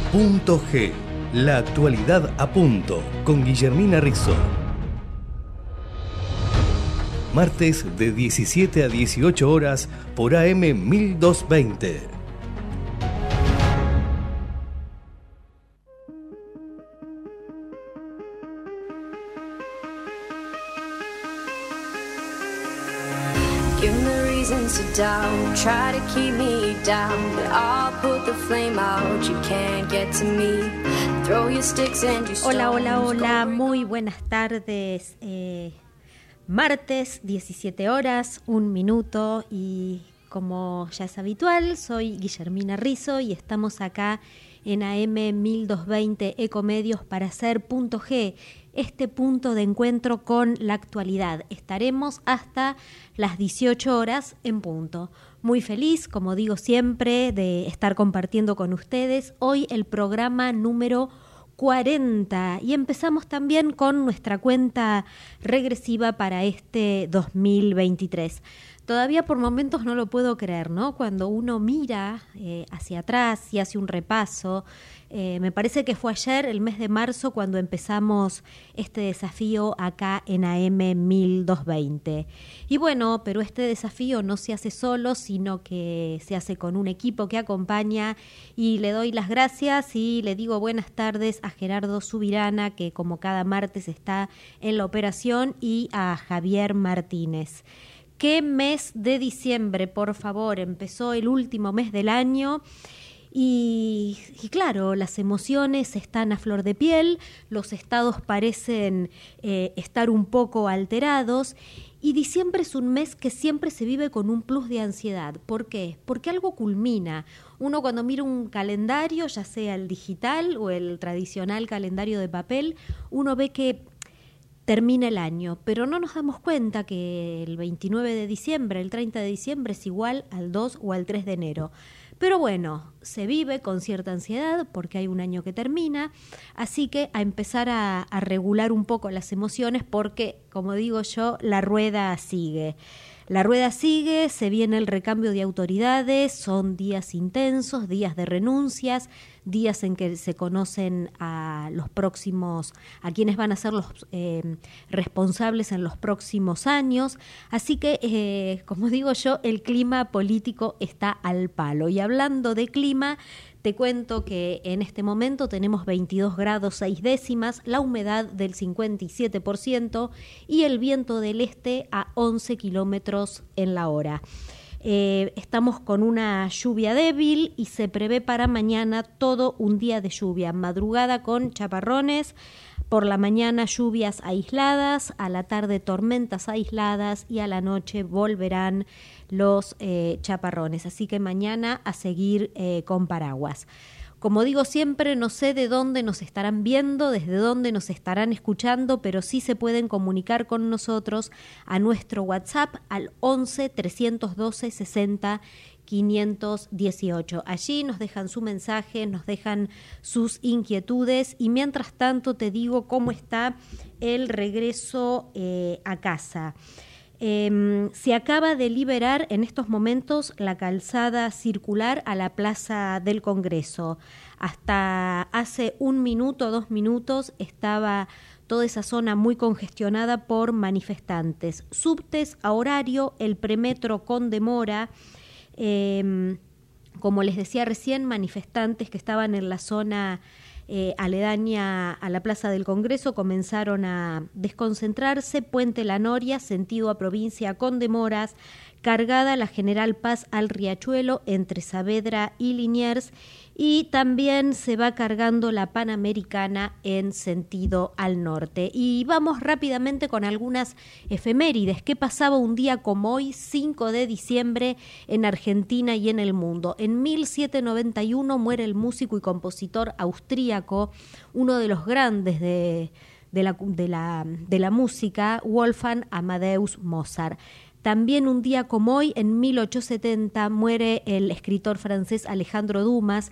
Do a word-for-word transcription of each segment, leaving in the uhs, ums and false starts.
Punto G, la actualidad a punto, con Guillermina Rizzo. Martes de diecisiete a dieciocho horas por A M mil doscientos veinte. Give me reasons to doubt, try to keep me down, but I'll put the flame out, you can't get to me. Throw your sticks and your stones. Hola, hola, hola, muy buenas tardes. Eh, martes, diecisiete horas, un minuto, y como ya es habitual, soy Guillermina Rizzo y estamos acá en A M mil doscientos veinte Ecomedios para hacer Punto G, este punto de encuentro con la actualidad. Estaremos hasta las dieciocho horas en punto. Muy feliz, como digo siempre, de estar compartiendo con ustedes hoy el programa número cuarenta, y empezamos también con nuestra cuenta regresiva para este dos mil veintitrés. Todavía por momentos no lo puedo creer, ¿no? Cuando uno mira eh, hacia atrás y hace un repaso, eh, me parece que fue ayer, el mes de marzo, cuando empezamos este desafío acá en A M mil doscientos veinte. Y bueno, pero este desafío no se hace solo, sino que se hace con un equipo que acompaña, y le doy las gracias y le digo buenas tardes a Gerardo Subirana, que como cada martes está en la operación, y a Javier Martínez. ¿Qué mes de diciembre, por favor? Empezó el último mes del año y, y claro, las emociones están a flor de piel, los estados parecen eh, estar un poco alterados, y diciembre es un mes que siempre se vive con un plus de ansiedad. ¿Por qué? Porque algo culmina. Uno cuando mira un calendario, ya sea el digital o el tradicional calendario de papel, uno ve que termina el año, pero no nos damos cuenta que el veintinueve de diciembre, el treinta de diciembre es igual al dos o al tres de enero. Pero bueno, se vive con cierta ansiedad porque hay un año que termina, así que a empezar a, a regular un poco las emociones porque, como digo yo, la rueda sigue. La rueda sigue, se viene el recambio de autoridades, son días intensos, días de renuncias, días en que se conocen a los próximos, a quienes van a ser los eh, responsables en los próximos años. Así que, eh, como digo yo, el clima político está al palo. Y hablando de clima, te cuento que en este momento tenemos veintidós grados seis décimas, la humedad del cincuenta y siete por ciento y el viento del este a once kilómetros en la hora. Eh, estamos con una lluvia débil y se prevé para mañana todo un día de lluvia, madrugada con chaparrones, por la mañana lluvias aisladas, a la tarde tormentas aisladas y a la noche volverán los eh, chaparrones. Así que mañana a seguir eh, con paraguas. Como digo siempre, no sé de dónde nos estarán viendo, desde dónde nos estarán escuchando, pero sí se pueden comunicar con nosotros a nuestro WhatsApp al once, trescientos doce, sesenta, quinientos dieciocho. Allí nos dejan su mensaje, nos dejan sus inquietudes, y mientras tanto te digo cómo está el regreso eh, a casa. Eh, se acaba de liberar en estos momentos la calzada circular a la Plaza del Congreso. Hasta hace un minuto, dos minutos, estaba toda esa zona muy congestionada por manifestantes. Subtes a horario, el premetro con demora. Eh, como les decía recién, manifestantes que estaban en la zona Eh, aledaña a la Plaza del Congreso comenzaron a desconcentrarse. Puente La Noria, sentido a provincia con demoras, cargada la General Paz al Riachuelo entre Saavedra y Liniers, y también se va cargando la Panamericana en sentido al norte. Y vamos rápidamente con algunas efemérides. ¿Qué pasaba un día como hoy, cinco de diciembre, en Argentina y en el mundo? En mil setecientos noventa y uno muere el músico y compositor austríaco, uno de los grandes de, de, la, de, la, de la música, Wolfgang Amadeus Mozart. También un día como hoy, en mil ochocientos setenta, muere el escritor francés Alejandro Dumas,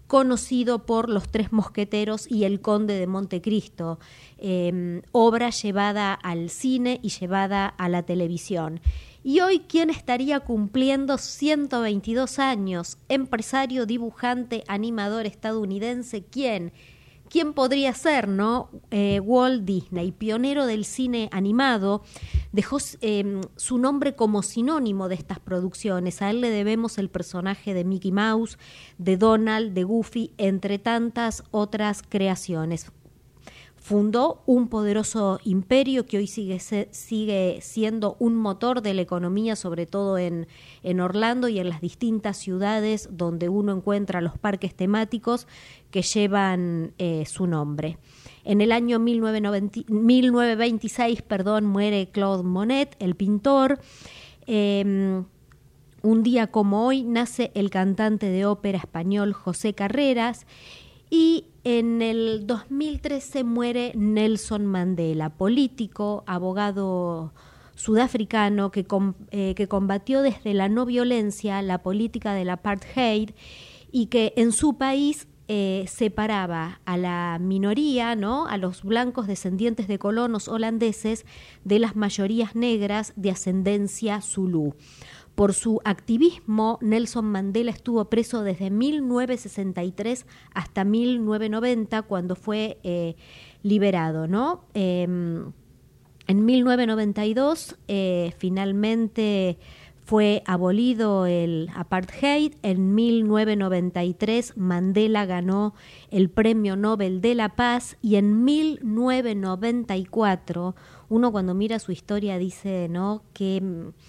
conocido por Los Tres Mosqueteros y El Conde de Montecristo, eh, obra llevada al cine y llevada a la televisión. Y hoy, ¿quién estaría cumpliendo ciento veintidós años? Empresario, dibujante, animador estadounidense, ¿quién? ¿Quién podría ser, no? Eh, Walt Disney, pionero del cine animado, dejó eh, su nombre como sinónimo de estas producciones. A él le debemos el personaje de Mickey Mouse, de Donald, de Goofy, entre tantas otras creaciones. Fundó un poderoso imperio que hoy sigue, sigue siendo un motor de la economía, sobre todo en, en Orlando y en las distintas ciudades donde uno encuentra los parques temáticos que llevan eh, su nombre. En el año mil novecientos veintiséis perdón, muere Claude Monet, el pintor. Eh, un día como hoy nace el cantante de ópera español José Carreras. Y en el dos mil trece muere Nelson Mandela, político, abogado sudafricano que, com, eh, que combatió desde la no violencia la política del apartheid y que en su país eh, separaba a la minoría, ¿no?, a los blancos descendientes de colonos holandeses de las mayorías negras de ascendencia zulú. Por su activismo, Nelson Mandela estuvo preso desde mil novecientos sesenta y tres hasta mil novecientos noventa, cuando fue eh, liberado, ¿no? Eh, en mil novecientos noventa y dos, eh, finalmente fue abolido el apartheid. En mil novecientos noventa y tres, Mandela ganó el Premio Nobel de la Paz, y en mil novecientos noventa y cuatro, uno cuando mira su historia dice, ¿no?, que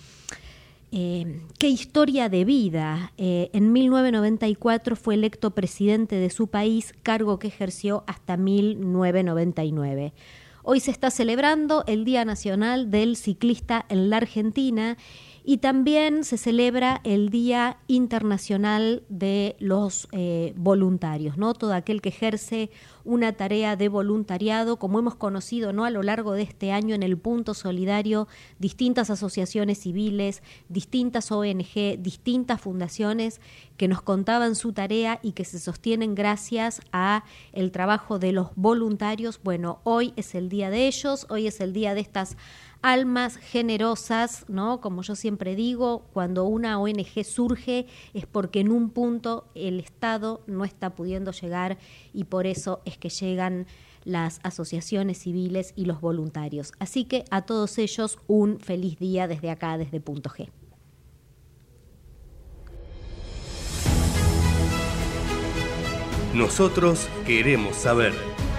Eh, qué historia de vida. Eh, en mil novecientos noventa y cuatro fue electo presidente de su país, cargo que ejerció hasta mil novecientos noventa y nueve. Hoy se está celebrando el Día Nacional del Ciclista en la Argentina, y también se celebra el Día Internacional de los eh, Voluntarios, ¿no? Todo aquel que ejerce una tarea de voluntariado, como hemos conocido, ¿no?, a lo largo de este año en el Punto Solidario, distintas asociaciones civiles, distintas O N G, distintas fundaciones que nos contaban su tarea y que se sostienen gracias a el trabajo de los voluntarios. Bueno, hoy es el día de ellos, hoy es el día de estas almas generosas, ¿no? Como yo siempre digo, cuando una O N G surge es porque en un punto el Estado no está pudiendo llegar, y por eso es que llegan las asociaciones civiles y los voluntarios. Así que a todos ellos un feliz día desde acá, desde Punto G. Nosotros queremos saber.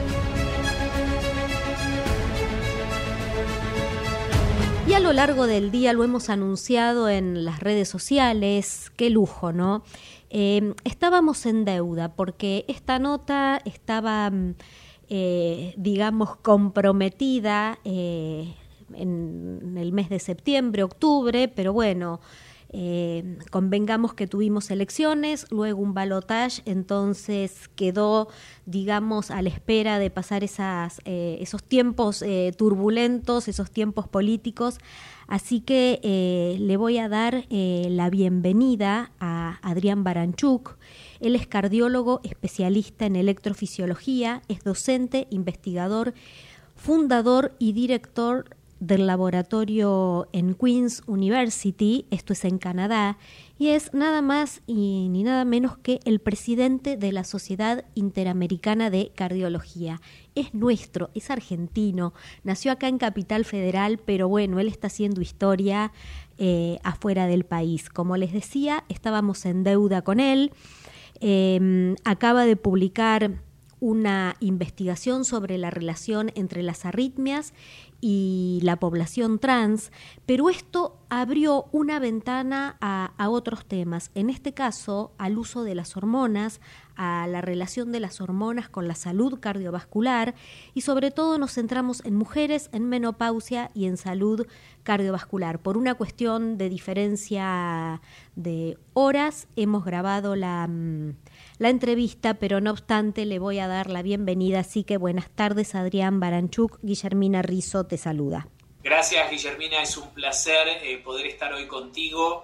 Y a lo largo del día lo hemos anunciado en las redes sociales, qué lujo, ¿no? Eh, estábamos en deuda porque esta nota estaba, eh, digamos, comprometida eh, en el mes de septiembre, octubre, pero bueno, eh, convengamos que tuvimos elecciones, luego un balotaje, entonces quedó, digamos, a la espera de pasar esas, eh, esos tiempos eh, turbulentos, esos tiempos políticos. Así que eh, le voy a dar eh, la bienvenida a Adrián Baranchuk. Él es cardiólogo, especialista en electrofisiología, es docente, investigador, fundador y director del laboratorio en Queen's University, esto es en Canadá, y es nada más y ni nada menos que el presidente de la Sociedad Interamericana de Cardiología. Es nuestro, es argentino, nació acá en Capital Federal, pero bueno, él está haciendo historia eh, afuera del país. Como les decía, estábamos en deuda con él, eh, acaba de publicar una investigación sobre la relación entre las arritmias y la población trans, pero esto abrió una ventana a, a otros temas, en este caso al uso de las hormonas, a la relación de las hormonas con la salud cardiovascular, y sobre todo nos centramos en mujeres en menopausia y en salud cardiovascular. Por una cuestión de diferencia de horas hemos grabado la, la entrevista, pero no obstante le voy a dar la bienvenida, así que buenas tardes, Adrián Baranchuk. Guillermina Rizo te saluda. Gracias, Guillermina, es un placer eh, poder estar hoy contigo.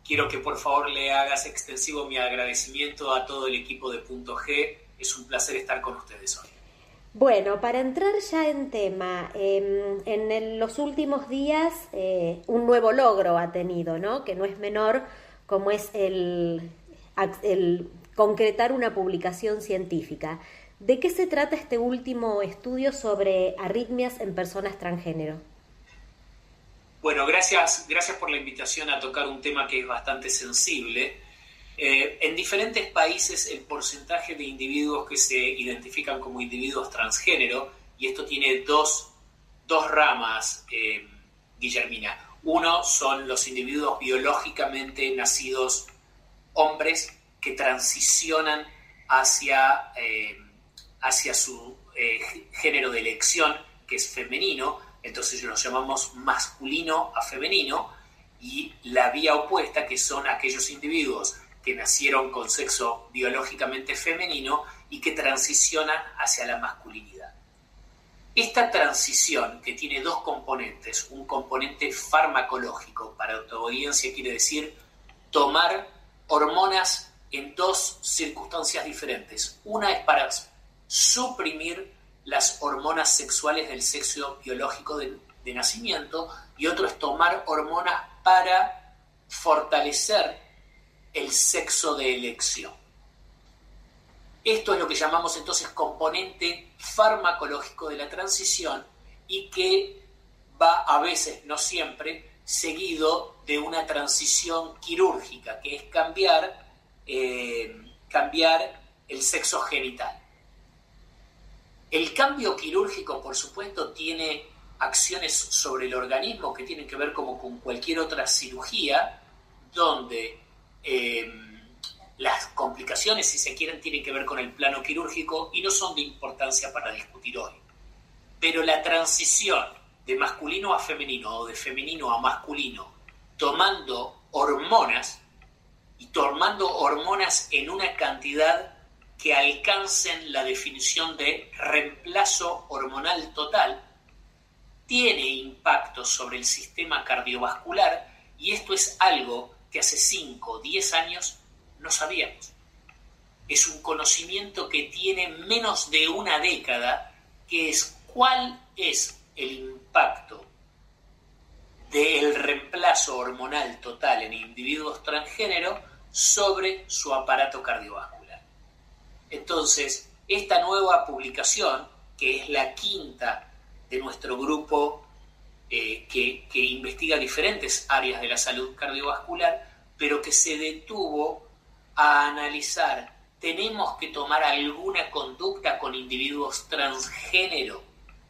quiero que por favor le hagas extensivo mi agradecimiento a todo el equipo de Punto G. Es un placer estar con ustedes hoy. Bueno, para entrar ya en tema, eh, en el, los últimos días eh, un nuevo logro ha tenido, ¿no? Que no es menor, como es el, el concretar una publicación científica. ¿De qué se trata este último estudio sobre arritmias en personas transgénero? Bueno, gracias, gracias por la invitación a tocar un tema que es bastante sensible. Eh, en diferentes países el porcentaje de individuos que se identifican como individuos transgénero, y esto tiene dos, dos ramas, eh, Guillermina. Uno son los individuos biológicamente nacidos hombres que transicionan hacia, eh, hacia su eh, género de elección, que es femenino, entonces los llamamos masculino a femenino, y la vía opuesta, que son aquellos individuos que nacieron con sexo biológicamente femenino y que transicionan hacia la masculinidad. Esta transición, que tiene dos componentes, un componente farmacológico, para tu audiencia quiere decir tomar hormonas en dos circunstancias diferentes. Una es para suprimir las hormonas sexuales del sexo biológico de, de nacimiento, y otro es tomar hormonas para fortalecer el sexo de elección. Esto es lo que llamamos entonces componente farmacológico de la transición, y que va a veces, no siempre, seguido de una transición quirúrgica, que es cambiar, eh, cambiar el sexo genital. El cambio quirúrgico, por supuesto, tiene acciones sobre el organismo que tienen que ver como con cualquier otra cirugía, donde eh, las complicaciones, si se quieren, tienen que ver con el plano quirúrgico y no son de importancia para discutir hoy. Pero la transición de masculino a femenino o de femenino a masculino, tomando hormonas y tomando hormonas en una cantidad que alcancen la definición de reemplazo hormonal total, tiene impacto sobre el sistema cardiovascular, y esto es algo que hace cinco o diez años no sabíamos. Es un conocimiento que tiene menos de una década, que es cuál es el impacto del reemplazo hormonal total en individuos transgénero sobre su aparato cardiovascular. Entonces, esta nueva publicación, que es la quinta de nuestro grupo eh, que, que investiga diferentes áreas de la salud cardiovascular, pero que se detuvo a analizar, ¿tenemos que tomar alguna conducta con individuos transgénero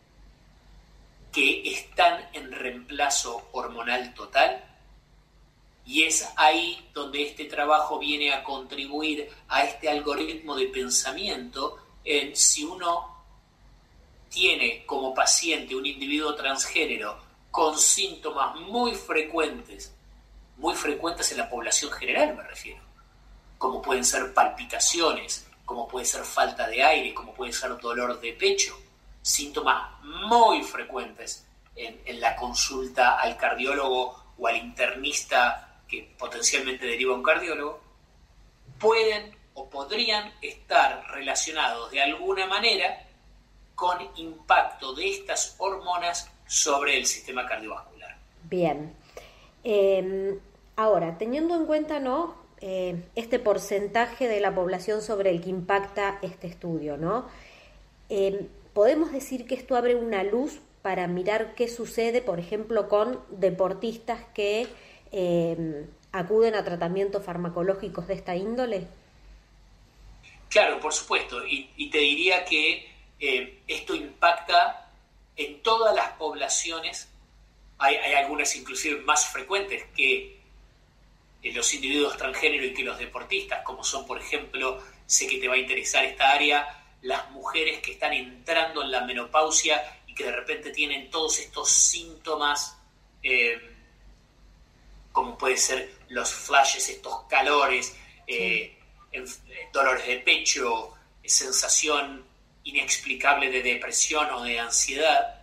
que están en reemplazo hormonal total? Y es ahí donde este trabajo viene a contribuir a este algoritmo de pensamiento en si uno tiene como paciente un individuo transgénero con síntomas muy frecuentes, muy frecuentes en la población general me refiero, como pueden ser palpitaciones, como puede ser falta de aire, como puede ser dolor de pecho, síntomas muy frecuentes en, en la consulta al cardiólogo o al internista que potencialmente deriva a un cardiólogo, pueden o podrían estar relacionados de alguna manera con impacto de estas hormonas sobre el sistema cardiovascular. Bien. Eh, ahora, teniendo en cuenta, ¿no?, eh, este porcentaje de la población sobre el que impacta este estudio, ¿no? Eh, ¿podemos decir que esto abre una luz para mirar qué sucede, por ejemplo, con deportistas que eh, acuden a tratamientos farmacológicos de esta índole? Claro, por supuesto, y, y te diría que eh, esto impacta en todas las poblaciones. Hay, hay algunas inclusive más frecuentes que eh, los individuos transgénero y que los deportistas, como son, por ejemplo, sé que te va a interesar esta área, las mujeres que están entrando en la menopausia y que de repente tienen todos estos síntomas, eh, como puede ser los flashes, estos calores, eh, en, dolores de pecho, sensación inexplicable de depresión o de ansiedad,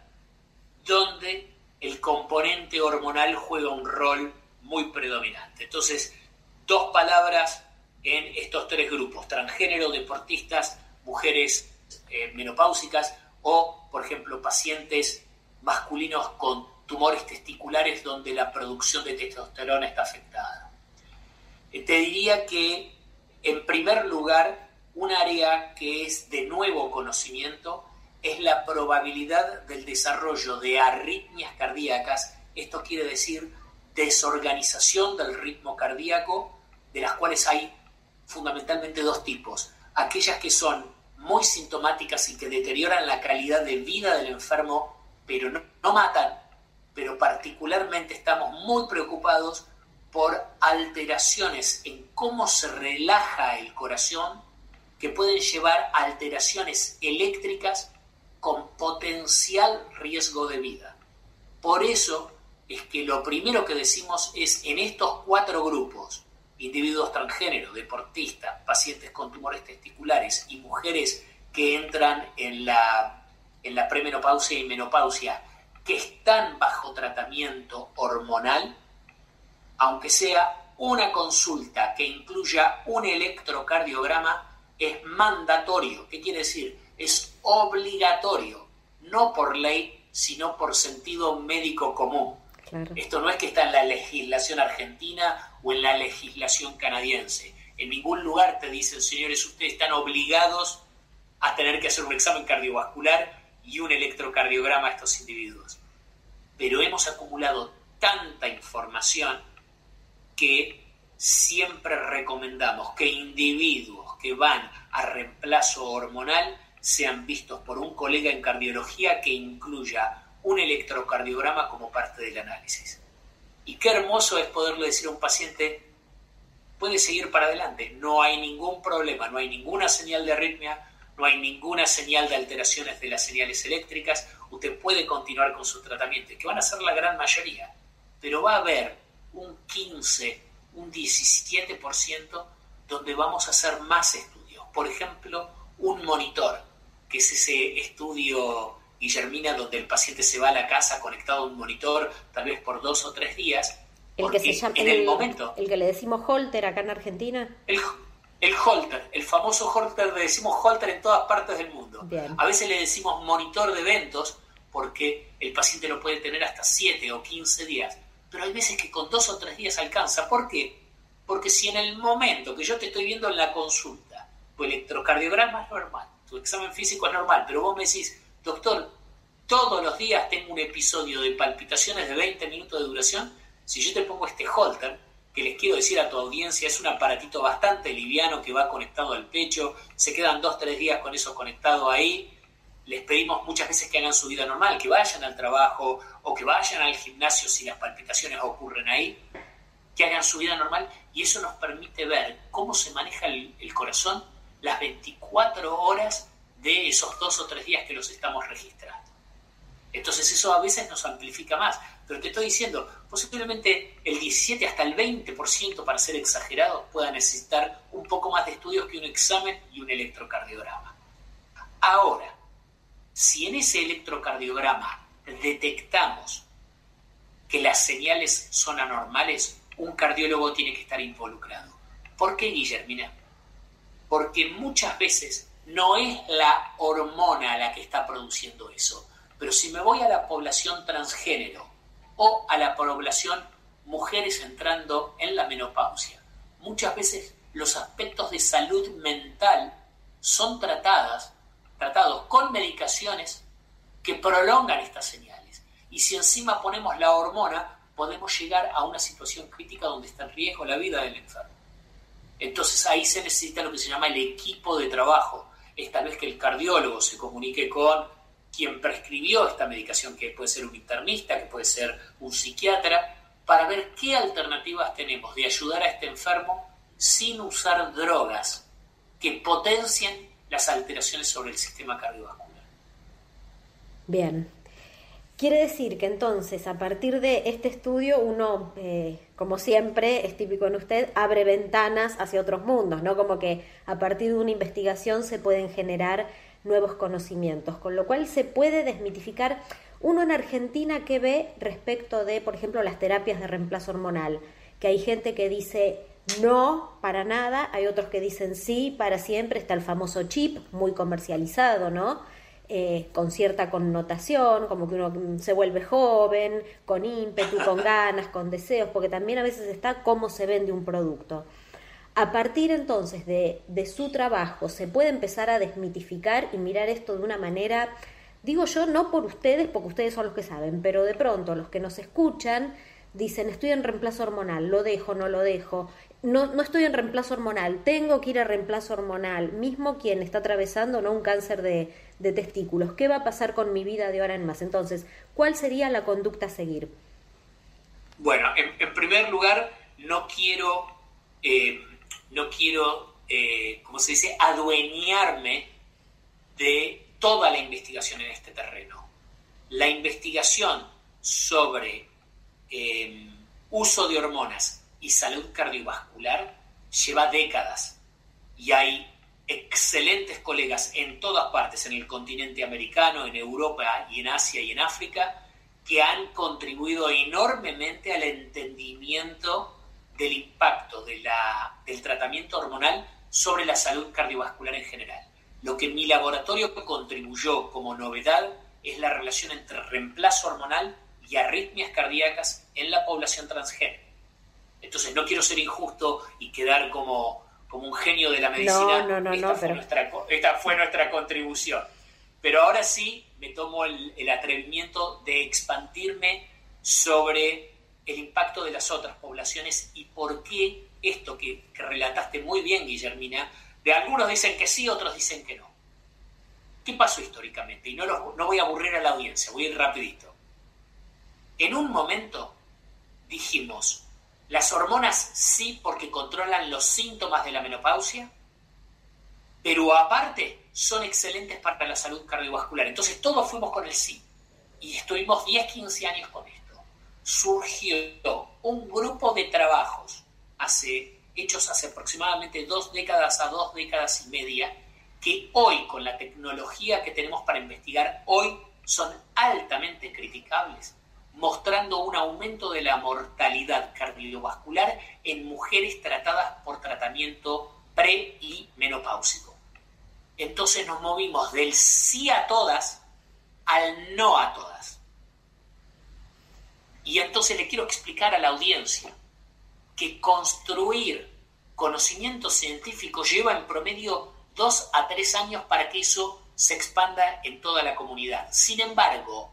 donde el componente hormonal juega un rol muy predominante. Entonces, dos palabras en estos tres grupos: transgénero, deportistas, mujeres eh, menopáusicas o, por ejemplo, pacientes masculinos con tumores testiculares donde la producción de testosterona está afectada. Eh, te diría que, en primer lugar, un área que es de nuevo conocimiento es la probabilidad del desarrollo de arritmias cardíacas. Esto quiere decir desorganización del ritmo cardíaco, de las cuales hay fundamentalmente dos tipos: aquellas que son muy sintomáticas y que deterioran la calidad de vida del enfermo, pero no, no matan, pero particularmente estamos muy preocupados por alteraciones en cómo se relaja el corazón, que pueden llevar a alteraciones eléctricas con potencial riesgo de vida. Por eso es que lo primero que decimos es, en estos cuatro grupos, individuos transgénero, deportistas, pacientes con tumores testiculares y mujeres que entran en la, en la premenopausia y menopausia, que están bajo tratamiento hormonal, aunque sea una consulta que incluya un electrocardiograma, es mandatorio. ¿Qué quiere decir? Es obligatorio, no por ley, sino por sentido médico común. Claro. Esto no es que está en la legislación argentina o en la legislación canadiense. En ningún lugar te dicen, señores, ustedes están obligados a tener que hacer un examen cardiovascular y un electrocardiograma a estos individuos. Pero hemos acumulado tanta información que siempre recomendamos que individuos que van a reemplazo hormonal sean vistos por un colega en cardiología que incluya un electrocardiograma como parte del análisis. Y qué hermoso es poderle decir a un paciente, puede seguir para adelante, no hay ningún problema, no hay ninguna señal de arritmia, no hay ninguna señal de alteraciones de las señales eléctricas, usted puede continuar con su tratamiento, que van a ser la gran mayoría, pero va a haber un quince, un diecisiete por ciento donde vamos a hacer más estudios. Por ejemplo, un monitor, que es ese estudio, Guillermina, donde el paciente se va a la casa conectado a un monitor, tal vez por dos o tres días. El que se llama, en el, el momento, el que le decimos Holter acá en Argentina. El, el Holter, el famoso Holter, le decimos Holter en todas partes del mundo. Bien. A veces le decimos monitor de eventos porque el paciente lo puede tener hasta siete o quince días, pero hay veces que con dos o tres días alcanza. ¿Por qué? Porque si en el momento que yo te estoy viendo en la consulta, tu electrocardiograma es normal, tu examen físico es normal, pero vos me decís, doctor, todos los días tengo un episodio de palpitaciones de veinte minutos de duración, si yo te pongo este Holter, que les quiero decir a tu audiencia, es un aparatito bastante liviano que va conectado al pecho, se quedan dos o tres días con eso conectado ahí, les pedimos muchas veces que hagan su vida normal, que vayan al trabajo o que vayan al gimnasio si las palpitaciones ocurren ahí, que hagan su vida normal, y eso nos permite ver cómo se maneja el, el corazón las veinticuatro horas de esos dos o tres días que los estamos registrando. Entonces eso a veces nos amplifica más, pero te estoy diciendo, posiblemente el diecisiete hasta el veinte por ciento, para ser exagerados, pueda necesitar un poco más de estudios que un examen y un electrocardiograma. Ahora, si en ese electrocardiograma detectamos que las señales son anormales, un cardiólogo tiene que estar involucrado. ¿Por qué, Guillermina? Porque muchas veces no es la hormona la que está produciendo eso, pero si me voy a la población transgénero o a la población mujeres entrando en la menopausia, muchas veces los aspectos de salud mental son tratadas, tratados con medicaciones que prolongan estas señales. Y si encima ponemos la hormona, podemos llegar a una situación crítica donde está en riesgo la vida del enfermo. Entonces ahí se necesita lo que se llama el equipo de trabajo. Es tal vez que el cardiólogo se comunique con quien prescribió esta medicación, que puede ser un internista, que puede ser un psiquiatra, para ver qué alternativas tenemos de ayudar a este enfermo sin usar drogas que potencien las alteraciones sobre el sistema cardiovascular. Bien. Quiere decir que entonces, a partir de este estudio, uno, eh, como siempre, es típico en usted, abre ventanas hacia otros mundos, ¿no? Como que a partir de una investigación se pueden generar nuevos conocimientos, con lo cual se puede desmitificar. Uno en Argentina, ¿qué ve respecto de, por ejemplo, las terapias de reemplazo hormonal? Que hay gente que dice, no, para nada. Hay otros que dicen sí, para siempre. Está el famoso chip, muy comercializado, ¿no? Eh, con cierta connotación, como que uno se vuelve joven, con ímpetu, con ganas, con deseos, porque también a veces está cómo se vende un producto. A partir entonces de, de su trabajo se puede empezar a desmitificar y mirar esto de una manera, digo yo, no por ustedes, porque ustedes son los que saben, pero de pronto los que nos escuchan dicen, estoy en reemplazo hormonal, lo dejo, no lo dejo, no, no estoy en reemplazo hormonal, tengo que ir a reemplazo hormonal, mismo quien está atravesando, ¿no?, un cáncer de, de testículos, ¿qué va a pasar con mi vida de ahora en más? Entonces, ¿cuál sería la conducta a seguir? Bueno, en, en primer lugar, no quiero, eh, no quiero, eh, ¿cómo se dice?, adueñarme de toda la investigación en este terreno. La investigación sobre eh, uso de hormonas y salud cardiovascular lleva décadas y hay excelentes colegas en todas partes, en el continente americano, en Europa y en Asia y en África, que han contribuido enormemente al entendimiento del impacto de la, del tratamiento hormonal sobre la salud cardiovascular en general. Lo que mi laboratorio contribuyó como novedad es la relación entre reemplazo hormonal y arritmias cardíacas en la población transgénero. Entonces, no quiero ser injusto y quedar como, como un genio de la medicina. No, no, no, esta, no, fue pero... nuestra, esta fue nuestra contribución. Pero ahora sí me tomo el, el atrevimiento de expandirme sobre el impacto de las otras poblaciones y por qué esto que, que relataste muy bien, Guillermina, de algunos dicen que sí, otros dicen que no. ¿Qué pasó históricamente? Y no, los, no voy a aburrir a la audiencia, voy a ir rapidito. En un momento dijimos, las hormonas sí porque controlan los síntomas de la menopausia, pero aparte son excelentes para la salud cardiovascular. Entonces todos fuimos con el sí. Y estuvimos diez, quince años con esto. Surgió un grupo de trabajos hace, hechos hace aproximadamente dos décadas a dos décadas y media, que hoy, con la tecnología que tenemos para investigar, hoy son altamente criticables, mostrando un aumento de la mortalidad cardiovascular en mujeres tratadas por tratamiento pre- y menopáusico. Entonces nos movimos del sí a todas al no a todas. Y entonces le quiero explicar a la audiencia que construir conocimiento científico lleva en promedio dos a tres años para que eso se expanda en toda la comunidad. Sin embargo,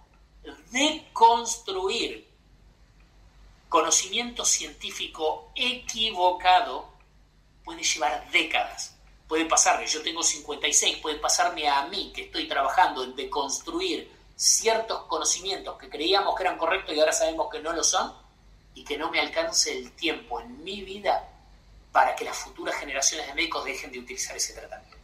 deconstruir conocimiento científico equivocado puede llevar décadas. Puede pasarme, yo tengo cincuenta y seis, puede pasarme a mí que estoy trabajando en deconstruir ciertos conocimientos que creíamos que eran correctos y ahora sabemos que no lo son, y que no me alcance el tiempo en mi vida para que las futuras generaciones de médicos dejen de utilizar ese tratamiento.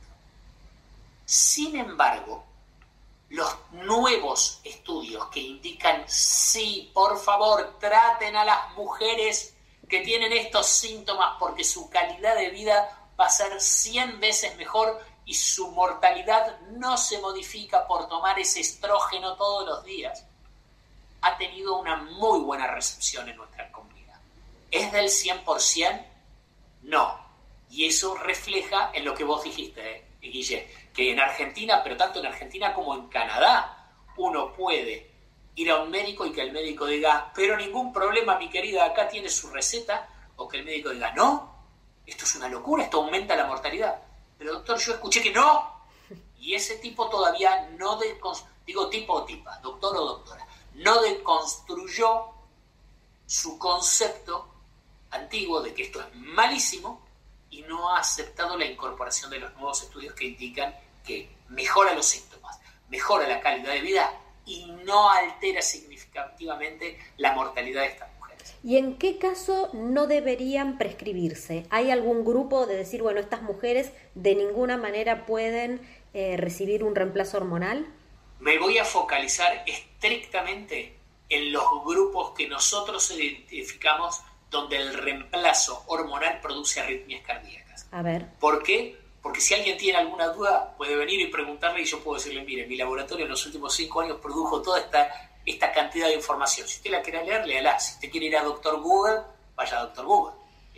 Sin embargo, los nuevos estudios que indican, sí, por favor, traten a las mujeres que tienen estos síntomas porque su calidad de vida va a ser cien veces mejor y su mortalidad no se modifica por tomar ese estrógeno todos los días, ha tenido una muy buena recepción en nuestra comunidad. ¿Es del cien por ciento? No. Y eso refleja en lo que vos dijiste, eh, Guille, que en Argentina, pero tanto en Argentina como en Canadá, uno puede ir a un médico y que el médico diga, pero ningún problema, mi querida, acá tiene su receta, o que el médico diga, no, esto es una locura, esto aumenta la mortalidad. Pero doctor, yo escuché que no. Y ese tipo todavía no, de, digo tipo o tipa, doctor o doctora, no deconstruyó su concepto antiguo de que esto es malísimo y no ha aceptado la incorporación de los nuevos estudios que indican que mejora los síntomas, mejora la calidad de vida y no altera significativamente la mortalidad de estas mujeres. ¿Y en qué caso no deberían prescribirse? ¿Hay algún grupo de decir, bueno, estas mujeres de ninguna manera pueden eh, recibir un reemplazo hormonal? Me voy a focalizar estrictamente en los grupos que nosotros identificamos donde el reemplazo hormonal produce arritmias cardíacas. A ver. ¿Por qué? Porque si alguien tiene alguna duda, puede venir y preguntarle y yo puedo decirle, mire, mi laboratorio en los últimos cinco años produjo toda esta, esta cantidad de información. Si usted la quiere leer, léala. Si usted quiere ir a doctor Google, vaya a doctor Google.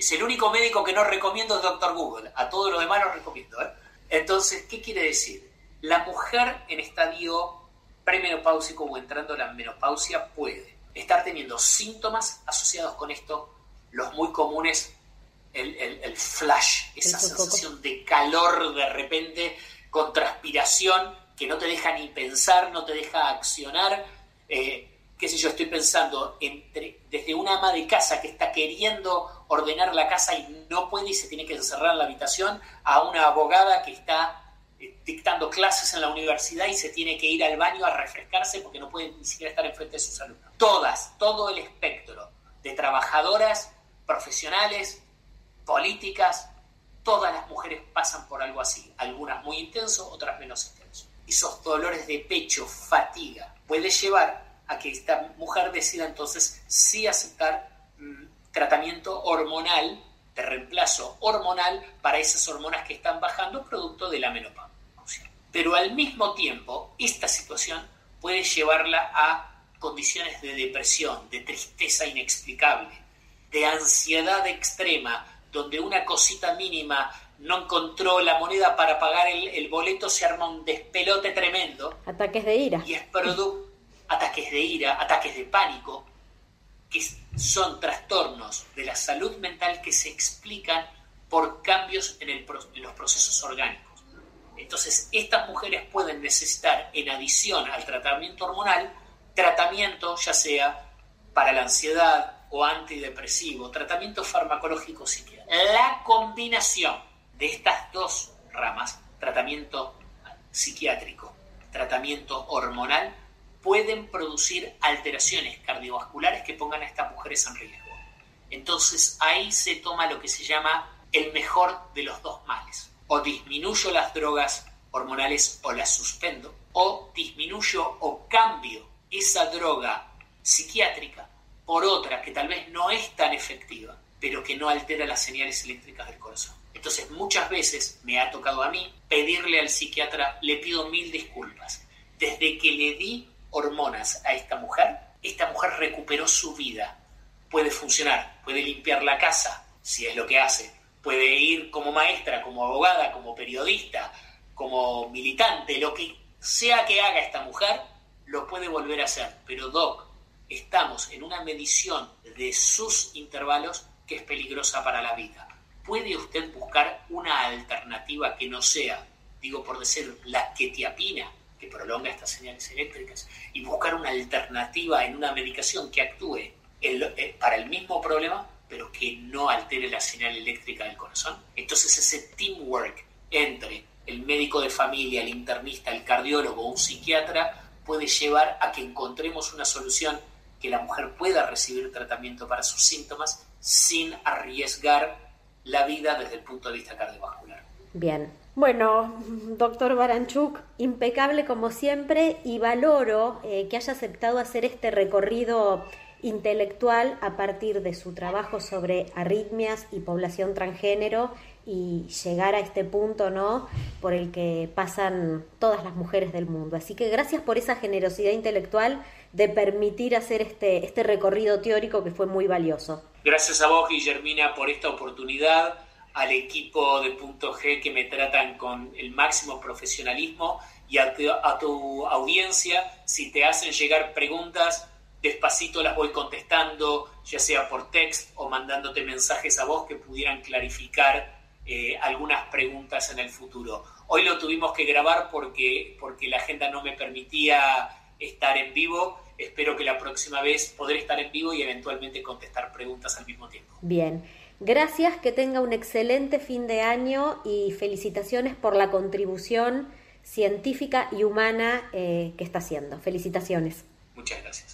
Es el único médico que no recomiendo es doctor Google. A todos los demás los recomiendo, ¿eh? Entonces, ¿qué quiere decir? La mujer en estadio premenopáusico o entrando a la menopausia puede estar teniendo síntomas asociados con esto, los muy comunes, el, el, el flash, esa el sensación de calor de repente, con transpiración, que no te deja ni pensar, no te deja accionar, eh, qué sé yo, estoy pensando entre, desde una ama de casa que está queriendo ordenar la casa y no puede y se tiene que encerrar en la habitación, a una abogada que está eh, dictando clases en la universidad y se tiene que ir al baño a refrescarse porque no puede ni siquiera estar enfrente de sus alumnos. Todas, todo el espectro de trabajadoras, profesionales, políticas, todas las mujeres pasan por algo así, algunas muy intenso, otras menos intenso. Esos dolores de pecho, fatiga, puede llevar a que esta mujer decida entonces sí aceptar mmm, tratamiento hormonal, de reemplazo hormonal para esas hormonas que están bajando producto de la menopausia. Pero al mismo tiempo, esta situación puede llevarla a condiciones de depresión, de tristeza inexplicable, de ansiedad extrema, donde una cosita mínima no encontró la moneda para pagar el, el boleto, se arma un despelote tremendo. Ataques de ira. Y es producto ataques de ira, ataques de pánico, que son trastornos de la salud mental que se explican por cambios en, el, en los procesos orgánicos. Entonces, estas mujeres pueden necesitar, en adición al tratamiento hormonal, tratamiento ya sea para la ansiedad o antidepresivo, tratamiento farmacológico psiquiátrico. La combinación de estas dos ramas, tratamiento psiquiátrico, tratamiento hormonal, pueden producir alteraciones cardiovasculares que pongan a estas mujeres en riesgo. Entonces ahí se toma lo que se llama el mejor de los dos males. O disminuyo las drogas hormonales o las suspendo, o disminuyo o cambio esa droga psiquiátrica por otra que tal vez no es tan efectiva, pero que no altera las señales eléctricas del corazón. Entonces muchas veces me ha tocado a mí pedirle al psiquiatra, le pido mil disculpas. Desde que le di hormonas a esta mujer, esta mujer recuperó su vida, puede funcionar, puede limpiar la casa, si es lo que hace, puede ir como maestra, como abogada, como periodista, como militante, lo que sea que haga esta mujer, lo puede volver a hacer. Pero Doc, estamos en una medición de sus intervalos que es peligrosa para la vida. ¿Puede usted buscar una alternativa que no sea, digo por decir, la quetiapina, que prolonga estas señales eléctricas, y buscar una alternativa en una medicación que actúe el, eh, para el mismo problema, pero que no altere la señal eléctrica del corazón? Entonces ese teamwork entre el médico de familia, el internista, el cardiólogo o un psiquiatra puede llevar a que encontremos una solución que la mujer pueda recibir tratamiento para sus síntomas sin arriesgar la vida desde el punto de vista cardiovascular. Bien. Bueno, doctor Baranchuk, impecable como siempre, y valoro eh, que haya aceptado hacer este recorrido intelectual a partir de su trabajo sobre arritmias y población transgénero y llegar a este punto, ¿no?, por el que pasan todas las mujeres del mundo. Así que gracias por esa generosidad intelectual de permitir hacer este, este recorrido teórico que fue muy valioso. Gracias a vos, Guillermina, por esta oportunidad, al equipo de Punto G que me tratan con el máximo profesionalismo y a tu, a tu audiencia. Si te hacen llegar preguntas, despacito las voy contestando, ya sea por text o mandándote mensajes a vos que pudieran clarificar eh, algunas preguntas en el futuro. Hoy lo tuvimos que grabar porque, porque la agenda no me permitía estar en vivo. Espero que la próxima vez podré estar en vivo y eventualmente contestar preguntas al mismo tiempo. Bien. Gracias, que tenga un excelente fin de año y felicitaciones por la contribución científica y humana eh, que está haciendo. Felicitaciones. Muchas gracias.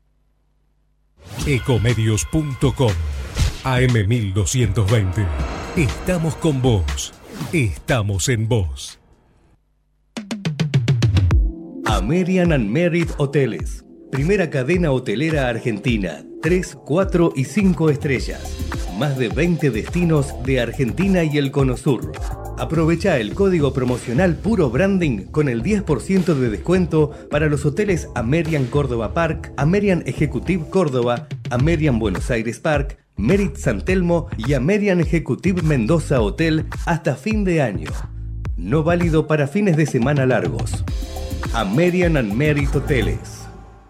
Ecomedios punto com A M mil doscientos veinte. Estamos con vos. Estamos en vos. American and Merit Hoteles. Primera cadena hotelera argentina. tres, cuatro y cinco estrellas. Más de veinte destinos de Argentina y el Cono Sur. Aprovecha el código promocional Puro Branding con el diez por ciento de descuento para los hoteles American Córdoba Park, American Executive Córdoba, Amerian Buenos Aires Park, Merit San Telmo y Amerian Executive Mendoza Hotel hasta fin de año. No válido para fines de semana largos. Amerian and Merit Hoteles.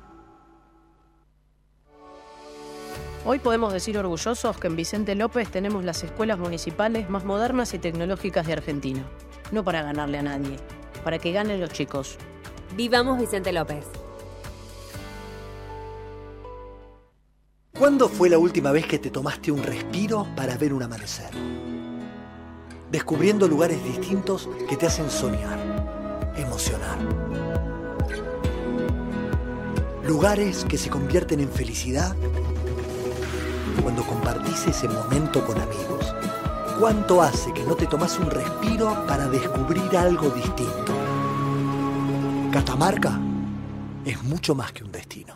Hoy podemos decir orgullosos que en Vicente López tenemos las escuelas municipales más modernas y tecnológicas de Argentina. No para ganarle a nadie, para que ganen los chicos. Vivamos Vicente López. ¿Cuándo fue la última vez que te tomaste un respiro para ver un amanecer? Descubriendo lugares distintos que te hacen soñar, emocionar. Lugares que se convierten en felicidad cuando compartís ese momento con amigos. ¿Cuánto hace que no te tomás un respiro para descubrir algo distinto? Catamarca es mucho más que un destino.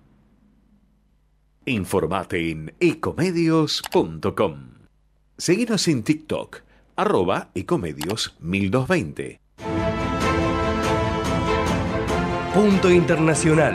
Informate en ecomedios punto com. Seguinos en TikTok, arroba ecomedios mil doscientos veinte. Punto Internacional.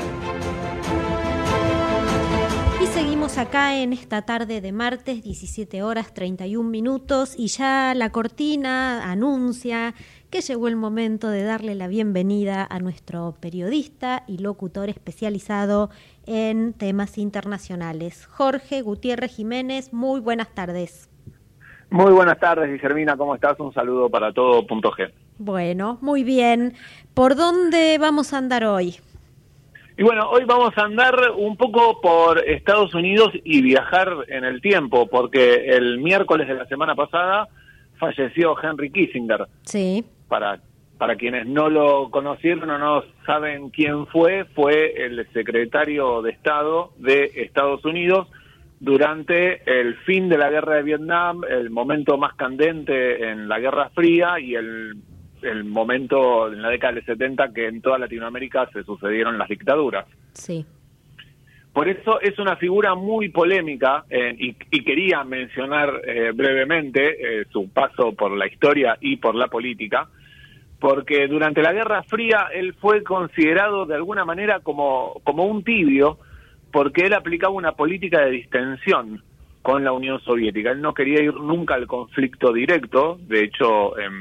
Y seguimos acá en esta tarde de martes, diecisiete horas treinta y un minutos, y ya la cortina anuncia que llegó el momento de darle la bienvenida a nuestro periodista y locutor especializado en temas internacionales, Jorge Gutiérrez Jiménez. Muy buenas tardes. Muy buenas tardes, Guillermina, ¿cómo estás? Un saludo para todo Punto G. Bueno, muy bien. ¿Por dónde vamos a andar hoy? Y bueno, hoy vamos a andar un poco por Estados Unidos y viajar en el tiempo, porque el miércoles de la semana pasada falleció Henry Kissinger. Sí. Para, para quienes no lo conocieron o no saben quién fue, fue el secretario de Estado de Estados Unidos durante el fin de la guerra de Vietnam, el momento más candente en la Guerra Fría y el, el momento en la década del setenta que en toda Latinoamérica se sucedieron las dictaduras. Sí. Por eso es una figura muy polémica eh, y, y quería mencionar eh, brevemente eh, su paso por la historia y por la política, porque durante la Guerra Fría él fue considerado de alguna manera como, como un tibio, porque él aplicaba una política de distensión con la Unión Soviética. Él no quería ir nunca al conflicto directo, de hecho eh,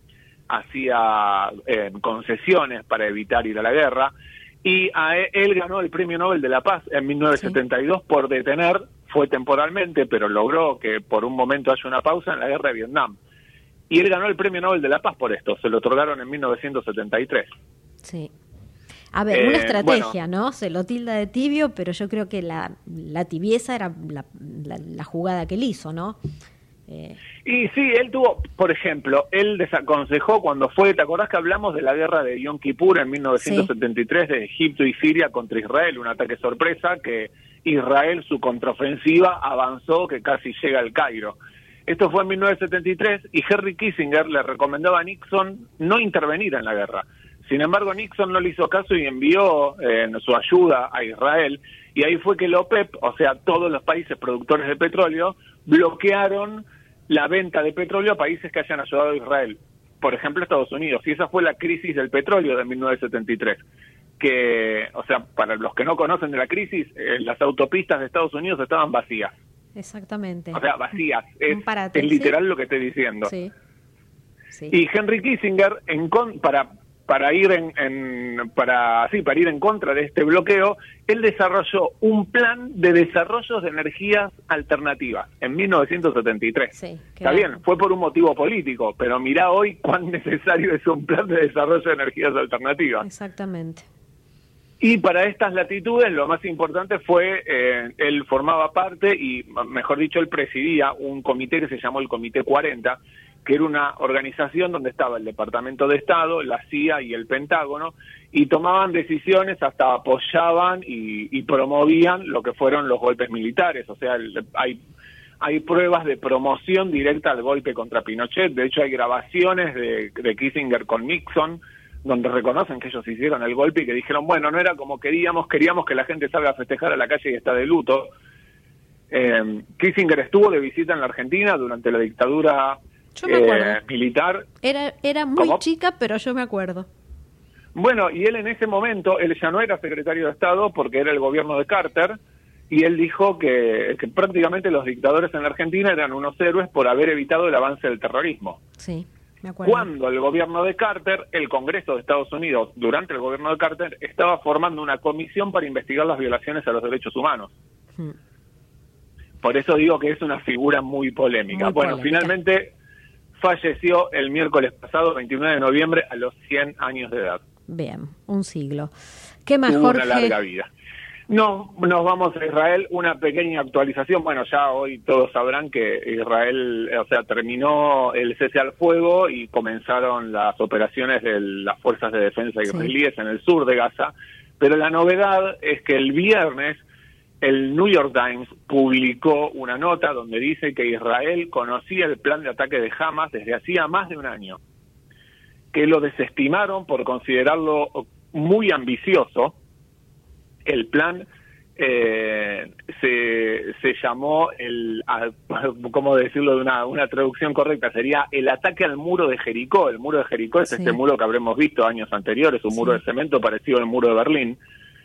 hacía eh, concesiones para evitar ir a la guerra, y a él, él ganó el Premio Nobel de la Paz en mil novecientos setenta y dos sí. por detener, fue temporalmente, pero logró que por un momento haya una pausa en la guerra de Vietnam. Y él ganó el Premio Nobel de la Paz por esto, se lo otorgaron en mil novecientos setenta y tres. Sí. A ver, eh, una estrategia, bueno, ¿no? Se lo tilda de tibio, pero yo creo que la, la tibieza era la, la, la jugada que él hizo, ¿no? Eh... Y sí, él tuvo, por ejemplo, él desaconsejó cuando fue, ¿te acordás que hablamos de la guerra de Yom Kippur en mil novecientos setenta y tres sí. de Egipto y Siria contra Israel, un ataque sorpresa que Israel, su contraofensiva, avanzó que casi llega al Cairo? Esto fue en mil novecientos setenta y tres y Henry Kissinger le recomendaba a Nixon no intervenir en la guerra. Sin embargo, Nixon no le hizo caso y envió eh, su ayuda a Israel, y ahí fue que la OPEP, o sea, todos los países productores de petróleo, bloquearon la venta de petróleo a países que hayan ayudado a Israel, por ejemplo Estados Unidos, y esa fue la crisis del petróleo de mil novecientos setenta y tres, que, o sea, para los que no conocen de la crisis, eh, las autopistas de Estados Unidos estaban vacías. Exactamente. O sea, vacías, es, parate, es literal ¿sí? lo que estoy diciendo. Sí. Sí. Y Henry Kissinger, en con, para para ir en, en para sí para ir en contra de este bloqueo, él desarrolló un plan de desarrollos de energías alternativas en mil novecientos setenta y tres. Sí, está bien, fue por un motivo político, pero mirá hoy cuán necesario es un plan de desarrollo de energías alternativas. Exactamente. Y para estas latitudes lo más importante fue, eh, él formaba parte y, mejor dicho, él presidía un comité que se llamó el Comité cuarenta, que era una organización donde estaba el Departamento de Estado, la C I A y el Pentágono, y tomaban decisiones, hasta apoyaban y, y promovían lo que fueron los golpes militares. O sea, el, hay, hay pruebas de promoción directa al golpe contra Pinochet. De hecho, hay grabaciones de, de Kissinger con Nixon, donde reconocen que ellos hicieron el golpe y que dijeron, bueno, no era como queríamos, queríamos que la gente salga a festejar a la calle y está de luto. Eh, Kissinger estuvo de visita en la Argentina durante la dictadura Yo me acuerdo. Eh, militar. Era, era muy ¿Cómo? chica, pero yo me acuerdo. Bueno, y él en ese momento, él ya no era secretario de Estado porque era el gobierno de Carter, y él dijo que, que prácticamente los dictadores en la Argentina eran unos héroes por haber evitado el avance del terrorismo. Sí, me acuerdo. Cuando el gobierno de Carter, el Congreso de Estados Unidos, durante el gobierno de Carter, estaba formando una comisión para investigar las violaciones a los derechos humanos. Hmm. Por eso digo que es una figura muy polémica. Muy bueno, polémica. Finalmente falleció el miércoles pasado, veintinueve de noviembre, a los cien años de edad. Bien, un siglo. ¿Qué más, Tuvo Jorge? Una larga vida. No, nos vamos a Israel, una pequeña actualización. Bueno, ya hoy todos sabrán que Israel, o sea, terminó el cese al fuego y comenzaron las operaciones de las fuerzas de defensa israelíes sí. en el sur de Gaza. Pero la novedad es que el viernes el New York Times publicó una nota donde dice que Israel conocía el plan de ataque de Hamas desde hacía más de un año, que lo desestimaron por considerarlo muy ambicioso. El plan eh, se, se llamó, el, ¿cómo decirlo de una, una traducción correcta? Sería el ataque al muro de Jericó. El muro de Jericó es sí. este muro que habremos visto años anteriores, un sí. muro de cemento parecido al muro de Berlín.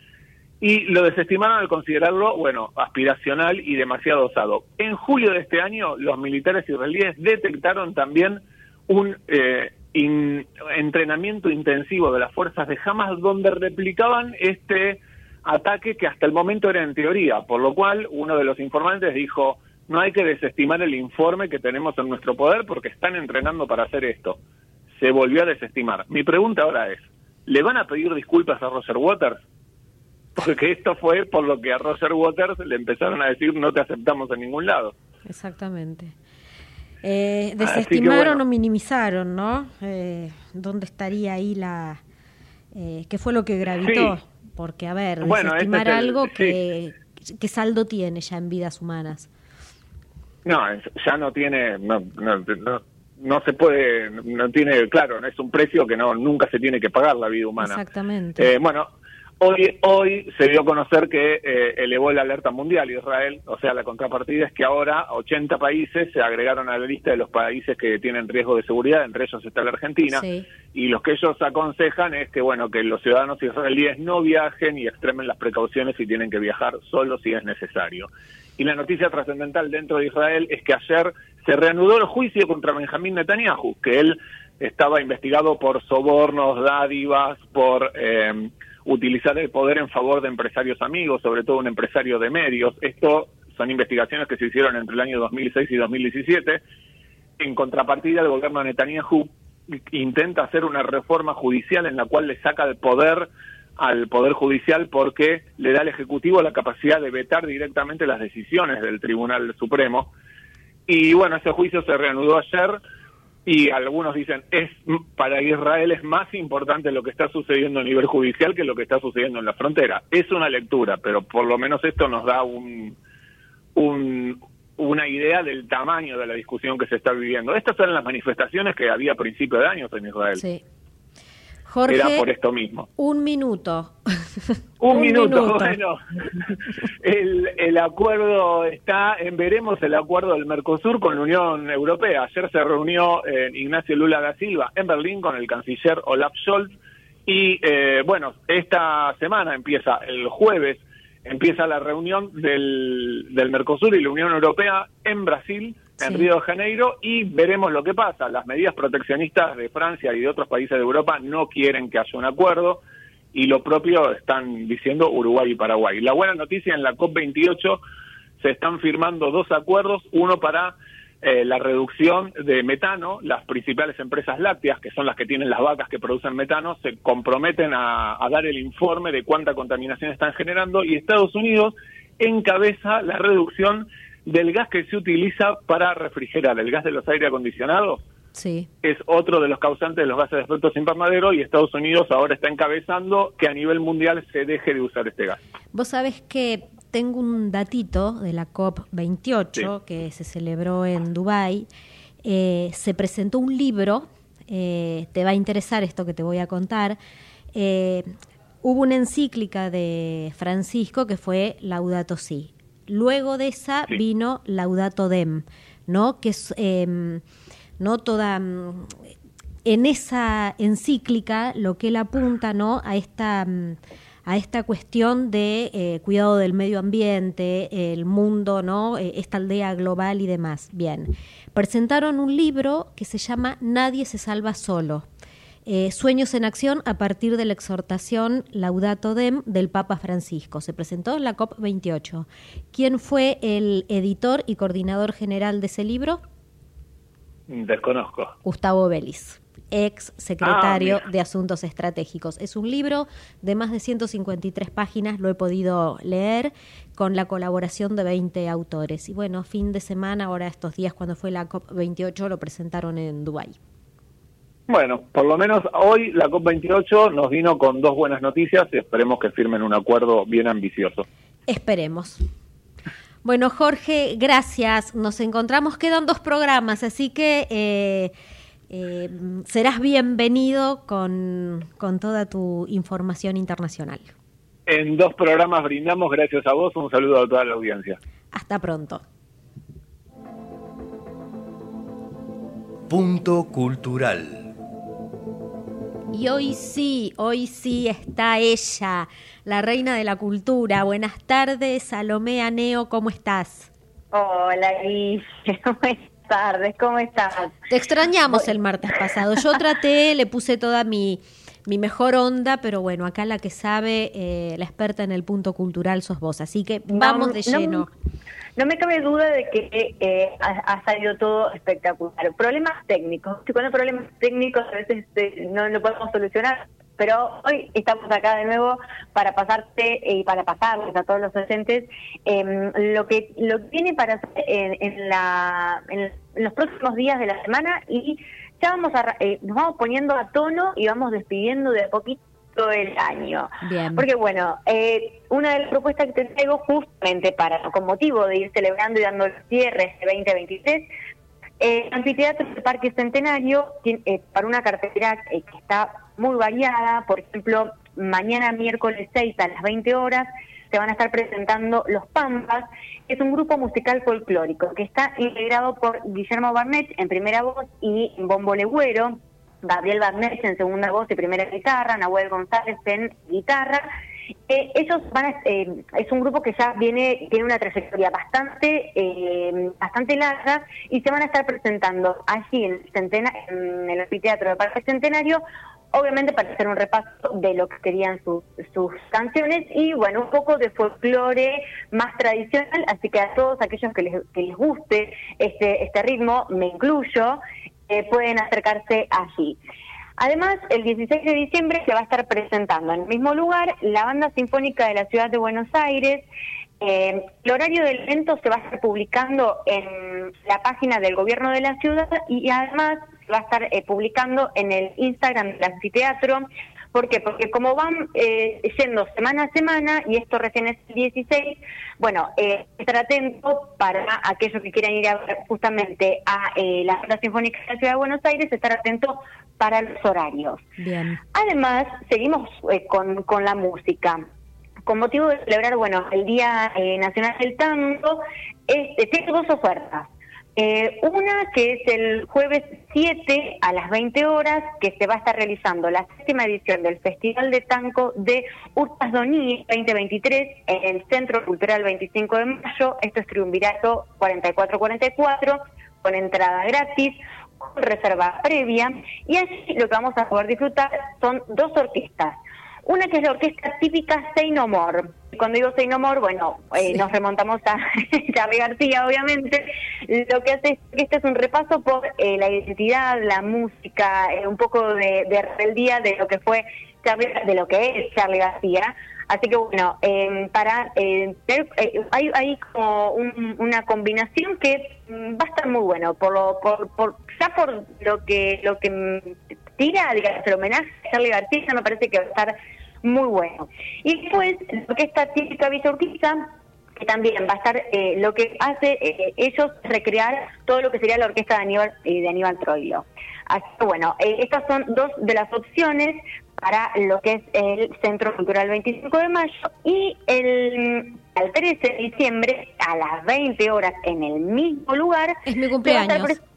Y lo desestimaron al considerarlo, bueno, aspiracional y demasiado osado. En julio de este año, los militares israelíes detectaron también un eh, in, entrenamiento intensivo de las fuerzas de Hamas donde replicaban este ataque que hasta el momento era en teoría, por lo cual uno de los informantes dijo, no hay que desestimar el informe que tenemos en nuestro poder porque están entrenando para hacer esto. Se volvió a desestimar. Mi pregunta ahora es, ¿le van a pedir disculpas a Roger Waters? Porque esto fue por lo que a Roger Waters le empezaron a decir no te aceptamos en ningún lado. Exactamente. Eh, desestimaron bueno. o minimizaron, ¿no? Eh, ¿Dónde estaría ahí la... Eh, ¿Qué fue lo que gravitó? Sí. Porque, a ver, bueno, desestimar este es el, algo sí. que, que saldo tiene ya en vidas humanas. No, ya no tiene... No, no, no, no se puede... No tiene... Claro, es un precio que no nunca se tiene que pagar la vida humana. Exactamente. Eh, bueno... Hoy, hoy se dio a conocer que eh, elevó la alerta mundial Israel, o sea, la contrapartida es que ahora ochenta países se agregaron a la lista de los países que tienen riesgo de seguridad, entre ellos está la Argentina, sí. y los que ellos aconsejan es que, bueno, que los ciudadanos israelíes no viajen y extremen las precauciones si tienen que viajar solo si es necesario. Y la noticia trascendental dentro de Israel es que ayer se reanudó el juicio contra Benjamín Netanyahu, que él estaba investigado por sobornos, dádivas, por... Eh, utilizar el poder en favor de empresarios amigos, sobre todo un empresario de medios. Esto son investigaciones que se hicieron entre el año dos mil seis y dos mil diecisiete. En contrapartida, el gobierno de Netanyahu intenta hacer una reforma judicial en la cual le saca el poder al Poder Judicial porque le da al Ejecutivo la capacidad de vetar directamente las decisiones del Tribunal Supremo. Y bueno, ese juicio se reanudó ayer. Y algunos dicen, es para Israel es más importante lo que está sucediendo a nivel judicial que lo que está sucediendo en la frontera. Es una lectura, pero por lo menos esto nos da un, un una idea del tamaño de la discusión que se está viviendo. Estas eran las manifestaciones que había a principios de años en Israel. Sí. Jorge, era por esto mismo. Un minuto. Un, un minuto, minuto, bueno. El, el acuerdo está, en veremos el acuerdo del Mercosur con la Unión Europea. Ayer se reunió eh, Ignacio Lula da Silva en Berlín con el canciller Olaf Scholz y, eh, bueno, esta semana empieza, el jueves, empieza la reunión del, del Mercosur y la Unión Europea en Brasil, en sí. Río de Janeiro, y veremos lo que pasa. Las medidas proteccionistas de Francia y de otros países de Europa no quieren que haya un acuerdo, y lo propio están diciendo Uruguay y Paraguay. La buena noticia, en la COP veintiocho se están firmando dos acuerdos, uno para eh, la reducción de metano. Las principales empresas lácteas, que son las que tienen las vacas que producen metano, se comprometen a, a dar el informe de cuánta contaminación están generando, y Estados Unidos encabeza la reducción del gas que se utiliza para refrigerar, el gas de los aire acondicionados. Sí. Es otro de los causantes de los gases de efecto invernadero, y Estados Unidos ahora está encabezando que a nivel mundial se deje de usar este gas. Vos sabés que tengo un datito de la COP veintiocho, sí. que se celebró en Dubái. Eh, se presentó un libro, eh, te va a interesar esto que te voy a contar. Eh, hubo una encíclica de Francisco que fue Laudato Si. Luego de esa sí. vino Laudato Dem, ¿no? Que es eh, no toda en esa encíclica lo que él apunta, ¿no? A esta a esta cuestión de eh, cuidado del medio ambiente, el mundo, ¿no? Eh, esta aldea global y demás. Bien, presentaron un libro que se llama Nadie se salva solo. Eh, Sueños en acción a partir de la exhortación Laudato Dem del Papa Francisco. Se presentó en la COP veintiocho. ¿Quién fue el editor y coordinador general de ese libro? Desconozco. Gustavo Vélez, ex secretario ah, de Asuntos Estratégicos. Es un libro de más de ciento cincuenta y tres páginas, lo he podido leer, con la colaboración de veinte autores. Y bueno, fin de semana, ahora estos días cuando fue la COP veintiocho, lo presentaron en Dubái. Bueno, por lo menos hoy la COP veintiocho nos vino con dos buenas noticias y esperemos que firmen un acuerdo bien ambicioso. Esperemos. Bueno, Jorge, gracias. Nos encontramos, quedan dos programas, así que eh, eh, serás bienvenido con, con toda tu información internacional. En dos programas brindamos, gracias a vos, un saludo a toda la audiencia. Hasta pronto. Punto Cultural. Y hoy sí, hoy sí está ella, la reina de la cultura. Buenas tardes, Salomé Aneo, ¿cómo estás? Hola, Guille, buenas tardes, ¿cómo estás? Te extrañamos el martes pasado. Yo traté, le puse toda mi, mi mejor onda, pero bueno, acá la que sabe, eh, la experta en el punto cultural sos vos, así que vamos no, de lleno. No, no me cabe duda de que eh, ha, ha salido todo espectacular. Problemas técnicos, si cuando hay problemas técnicos a veces eh, no lo podemos solucionar, pero hoy estamos acá de nuevo para pasarte y eh, para pasarles a todos los oyentes eh, lo que lo que viene para hacer en, en, la, en los próximos días de la semana, y ya vamos a eh, nos vamos poniendo a tono y vamos despidiendo de a poquito todo el año. Bien. Porque bueno, eh, una de las propuestas que te traigo justamente para con motivo de ir celebrando y dando el cierre este veinte veintitrés, eh, Anfiteatro del Parque Centenario eh, para una cartelera eh, que está muy variada. Por ejemplo, mañana miércoles seis a las veinte horas se van a estar presentando Los Pampas, que es un grupo musical folclórico que está integrado por Guillermo Barnett en primera voz y en bombo legüero, Gabriel Barnett en segunda voz y primera guitarra, Nahuel González en guitarra. Eh, ellos van a, eh, es un grupo que ya viene tiene una trayectoria bastante eh, bastante larga, y se van a estar presentando allí en el, Centena, en el Anfiteatro del Parque Centenario, obviamente para hacer un repaso de lo que serían sus, sus canciones y bueno, un poco de folclore más tradicional, así que a todos aquellos que les, que les guste este, este ritmo, me incluyo, eh, pueden acercarse allí. Además, el dieciséis de diciembre se va a estar presentando en el mismo lugar la Banda Sinfónica de la Ciudad de Buenos Aires. Eh, el horario del evento se va a estar publicando en la página del gobierno de la ciudad, y además se va a estar eh, publicando en el Instagram del anfiteatro. ¿Por qué? Porque como van eh, yendo semana a semana, y esto recién es el dieciséis, bueno, eh, estar atento para aquellos que quieran ir a ver justamente a eh, la Banda Sinfónica de la Ciudad de Buenos Aires, estar atento para los horarios. Bien. Además, seguimos eh, con, con la música. Con motivo de celebrar, bueno, el Día eh, Nacional del Tango, este, tengo dos ofertas. Eh, una que es el jueves siete a las veinte horas, que se va a estar realizando la séptima edición del Festival de Tango de Urtas Doní veinte veintitrés en el Centro Cultural veinticinco de mayo. Esto es Triunvirato cuarenta y cuatro cuarenta y cuatro, con entrada gratis, con reserva previa, y allí lo que vamos a poder disfrutar son dos orquestas. Una que es la orquesta típica Say No More. Cuando digo Say No More, bueno, eh, sí. nos remontamos a Charly García, obviamente. Lo que hace es que este es un repaso por eh, la identidad, la música, eh, un poco de, de rebeldía de lo que fue Charly, de lo que es Charly García. Así que bueno, eh, para eh, eh, hay, hay como un, una combinación que va a estar muy bueno, por lo, por, por ya por lo que lo que tira, digamos, el homenaje a Charly García, me parece que va a estar muy bueno. Y después, lo que está típica Villa Urquiza, que también va a estar, eh, lo que hace eh, ellos recrear todo lo que sería la orquesta de Aníbal, eh, de Aníbal Troilo. Así que bueno, eh, estas son dos de las opciones para lo que es el Centro Cultural veinticinco de mayo, y el, el trece de diciembre a las veinte horas en el mismo lugar. Es mi cumpleaños.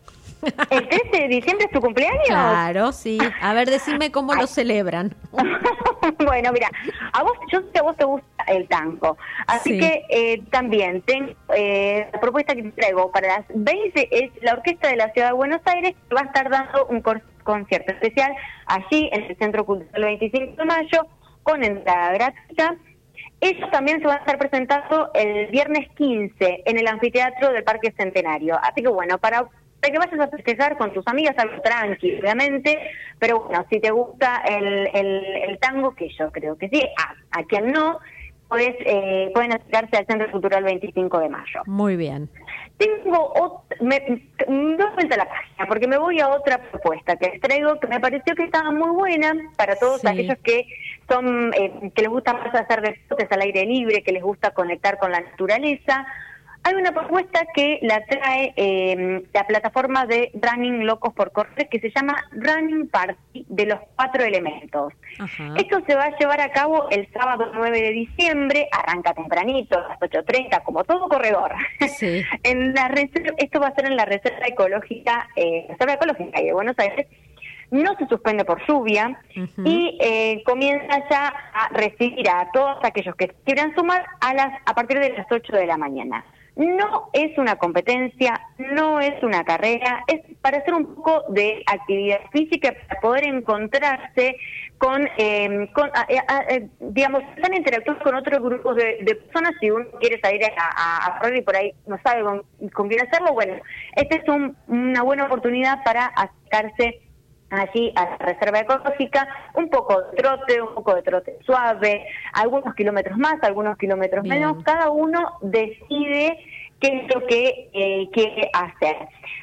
¿El trece de diciembre es tu cumpleaños? Claro, sí. A ver, decime cómo Ay. lo celebran. Bueno, mira, a vos, yo sé que a vos te gusta el tango, así sí. que eh, también tengo eh, la propuesta que te traigo para las veinte, es la Orquesta de la Ciudad de Buenos Aires, que va a estar dando un concierto especial allí en el Centro Cultural veinticinco de mayo, con entrada gratuita. Ellos también se van a estar presentando el viernes quince en el anfiteatro del Parque Centenario. Así que bueno, para, para que vayas a festejar con tus amigas, algo tranqui, obviamente, pero bueno, si te gusta el, el, el tango, que yo creo que sí, a, a quien no, pues, eh, pueden acercarse al Centro Cultural veinticinco de mayo. Muy bien. Tengo otra, me doy vuelta a la página porque me voy a otra propuesta que les traigo que me pareció que estaba muy buena para todos sí. aquellos que son eh, que les gusta más hacer deportes al aire libre, que les gusta conectar con la naturaleza. Hay una propuesta que la trae eh, la plataforma de Running Locos por Correr, que se llama Running Party de los Cuatro Elementos. Ajá. Esto se va a llevar a cabo el sábado nueve de diciembre, arranca tempranito, a las ocho treinta, como todo corredor. Sí. En la reserva, esto va a ser en la Reserva Ecológica, eh, Reserva Ecológica de Buenos Aires. No se suspende por lluvia uh-huh. y eh, comienza ya a recibir a todos aquellos que quieran sumar a las a partir de las ocho de la mañana. No es una competencia, no es una carrera, es para hacer un poco de actividad física, para poder encontrarse con, eh, con a, a, a, digamos, están interactuando con otros grupos de, de personas. Si uno quiere salir a, a correr y por ahí no sabe con, con quién hacerlo, bueno, esta es un, una buena oportunidad para acercarse allí a la Reserva Ecológica, un poco de trote, un poco de trote suave, algunos kilómetros más, algunos kilómetros Bien. menos, cada uno decide qué es lo que eh, quiere hacer.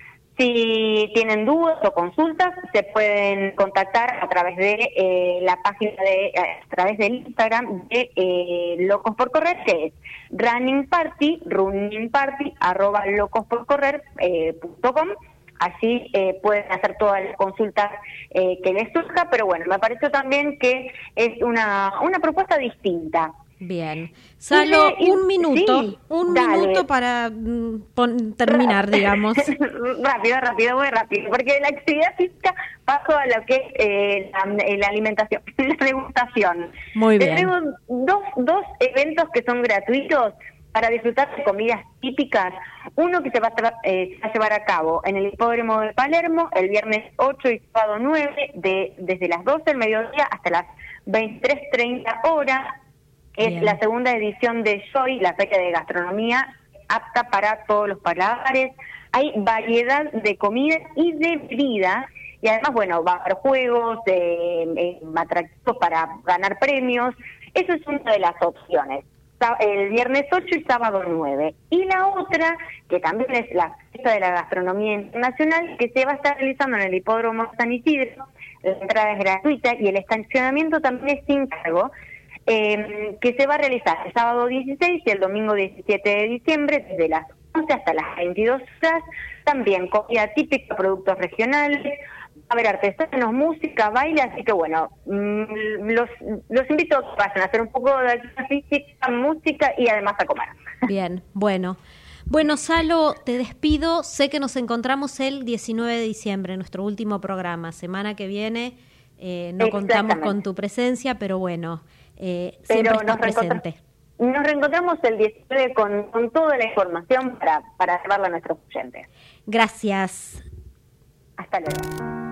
Si tienen dudas o consultas, se pueden contactar a través de eh, la página de, a través del Instagram de eh, Locos por Correr, que es Running Party, Running Party, arroba locosporcorrer eh, punto com. Así eh, pueden hacer todas las consultas eh, que les surja, pero bueno, me pareció también que es una, una propuesta distinta. Bien. Salo, y, y, un minuto, sí, un dale. minuto para mm, pon, terminar, digamos. rápido, rápido, muy rápido, porque la actividad física paso a lo que es eh, la, la alimentación, la degustación. Muy bien. Tenemos dos, dos eventos que son gratuitos para disfrutar de comidas típicas. Uno que se va, a eh, se va a llevar a cabo en el Hipódromo de Palermo el viernes ocho y sábado nueve, de, desde las doce del mediodía hasta las veintitrés treinta horas. Es Bien. la segunda edición de Joy, la feria de gastronomía apta para todos los paladares. Hay variedad de comida y de bebidas, y además, bueno, va a haber juegos, eh, eh, atractivos para ganar premios. Eso es una de las opciones. El viernes ocho y sábado nueve. Y la otra, que también es la fiesta de la gastronomía internacional, que se va a estar realizando en el Hipódromo San Isidro. La entrada es gratuita y el estacionamiento también es sin cargo, eh, que se va a realizar el sábado dieciséis y el domingo diecisiete de diciembre, desde las once hasta las veintidós horas. También comida típica, productos regionales, va a haber artesanos, música, baile, así que bueno, los, los invito a que pasen a hacer un poco de actividad física, música y además a comer. Bien, bueno. Bueno, Salo, te despido. Sé que nos encontramos el diecinueve de diciembre, nuestro último programa. Semana que viene eh, no contamos con tu presencia, pero bueno, eh, siempre pero estás presente. Nos reencontramos el diecinueve con, con toda la información para, para llevarla a nuestros oyentes. Gracias. Hasta luego.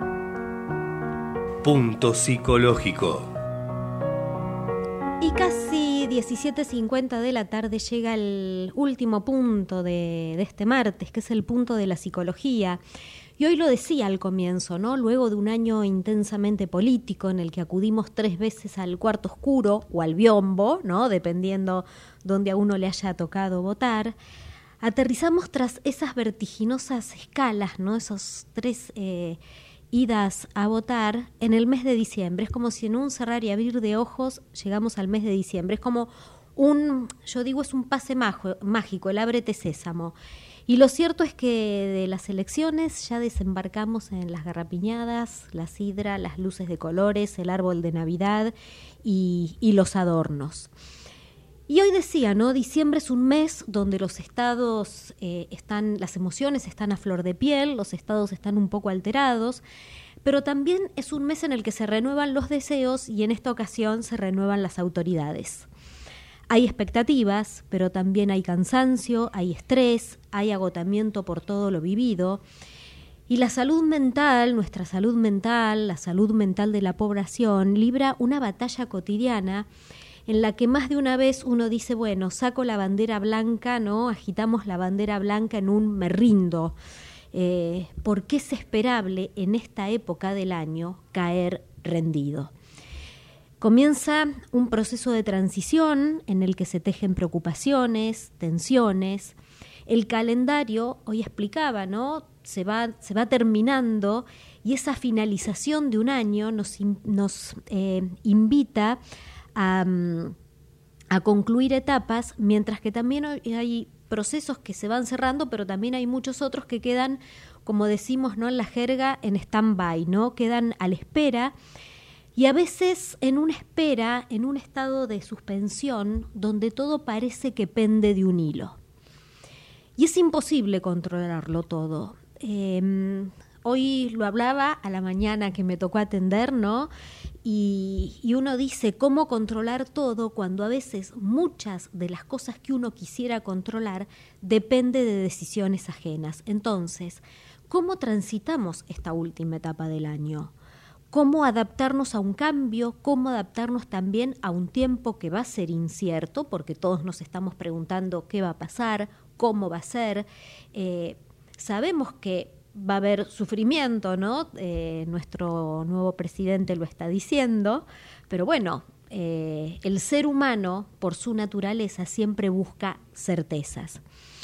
Punto psicológico. Y casi diecisiete cincuenta de la tarde llega el último punto de, de este martes, que es el punto de la psicología. Y hoy lo decía al comienzo, ¿no? Luego de un año intensamente político en el que acudimos tres veces al cuarto oscuro o al biombo, ¿no? Dependiendo donde a uno le haya tocado votar, aterrizamos tras esas vertiginosas escalas, ¿no? Esos tres eh, idas a votar en el mes de diciembre. Es como si en un cerrar y abrir de ojos llegamos al mes de diciembre. Es como un, yo digo, es un pase majo, mágico, el ábrete sésamo. Y lo cierto es que de las elecciones ya desembarcamos en las garrapiñadas, la sidra, las luces de colores, el árbol de Navidad y, y los adornos. Y hoy decía, ¿no? Diciembre es un mes donde los estados eh, están, las emociones están a flor de piel, los estados están un poco alterados, pero también es un mes en el que se renuevan los deseos y en esta ocasión se renuevan las autoridades. Hay expectativas, pero también hay cansancio, hay estrés, hay agotamiento por todo lo vivido. Y la salud mental, nuestra salud mental, la salud mental de la población, libra una batalla cotidiana en la que más de una vez uno dice, bueno, saco la bandera blanca, ¿no? Agitamos la bandera blanca en un me rindo, eh, porque es esperable en esta época del año caer rendido. Comienza un proceso de transición en el que se tejen preocupaciones, tensiones. El calendario, hoy explicaba, ¿no? Se va, se va terminando y esa finalización de un año nos, nos eh, invita A, a concluir etapas, mientras que también hay procesos que se van cerrando, pero también hay muchos otros que quedan, como decimos, ¿no? En la jerga, en stand-by, ¿no? Quedan a la espera, y a veces en una espera, en un estado de suspensión, donde todo parece que pende de un hilo. Y es imposible controlarlo todo. Eh, hoy lo hablaba a la mañana que me tocó atender, ¿no? Y, y uno dice, ¿cómo controlar todo cuando a veces muchas de las cosas que uno quisiera controlar depende de decisiones ajenas? Entonces, ¿cómo transitamos esta última etapa del año? ¿Cómo adaptarnos a un cambio? ¿Cómo adaptarnos también a un tiempo que va a ser incierto? Porque todos nos estamos preguntando qué va a pasar, cómo va a ser. Eh, sabemos que va a haber sufrimiento, ¿no? Eh, nuestro nuevo presidente lo está diciendo, pero bueno, eh, el ser humano, por su naturaleza, siempre busca certezas.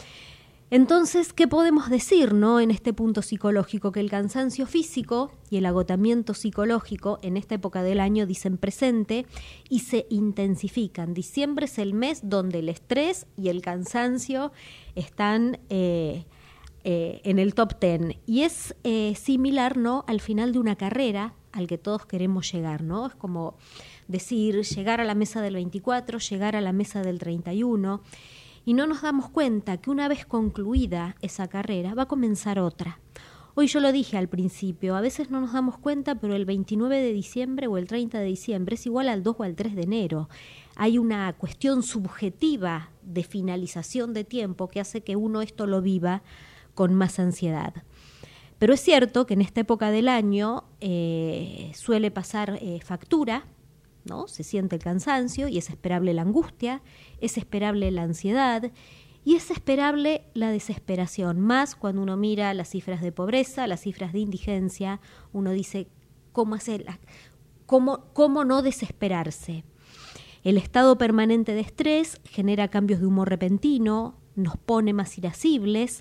Entonces, ¿qué podemos decir, no? En este punto psicológico, que el cansancio físico y el agotamiento psicológico en esta época del año dicen presente y se intensifican. Diciembre es el mes donde el estrés y el cansancio están eh, Eh, en el top ten, y es eh, similar, ¿no? Al final de una carrera al que todos queremos llegar, ¿no? Es como decir, llegar a la mesa del veinticuatro, llegar a la mesa del treinta y uno, y no nos damos cuenta que una vez concluida esa carrera va a comenzar otra. Hoy yo lo dije al principio, a veces no nos damos cuenta, pero el veintinueve de diciembre o el treinta de diciembre es igual al dos o al tres de enero. Hay una cuestión subjetiva de finalización de tiempo que hace que uno esto lo viva con más ansiedad. Pero es cierto que en esta época del año eh, suele pasar eh, factura, ¿no? Se siente el cansancio y es esperable la angustia, es esperable la ansiedad y es esperable la desesperación. Más cuando uno mira las cifras de pobreza, las cifras de indigencia, uno dice, ¿cómo hacerla? ¿Cómo, cómo no desesperarse? El estado permanente de estrés genera cambios de humor repentino, nos pone más irascibles,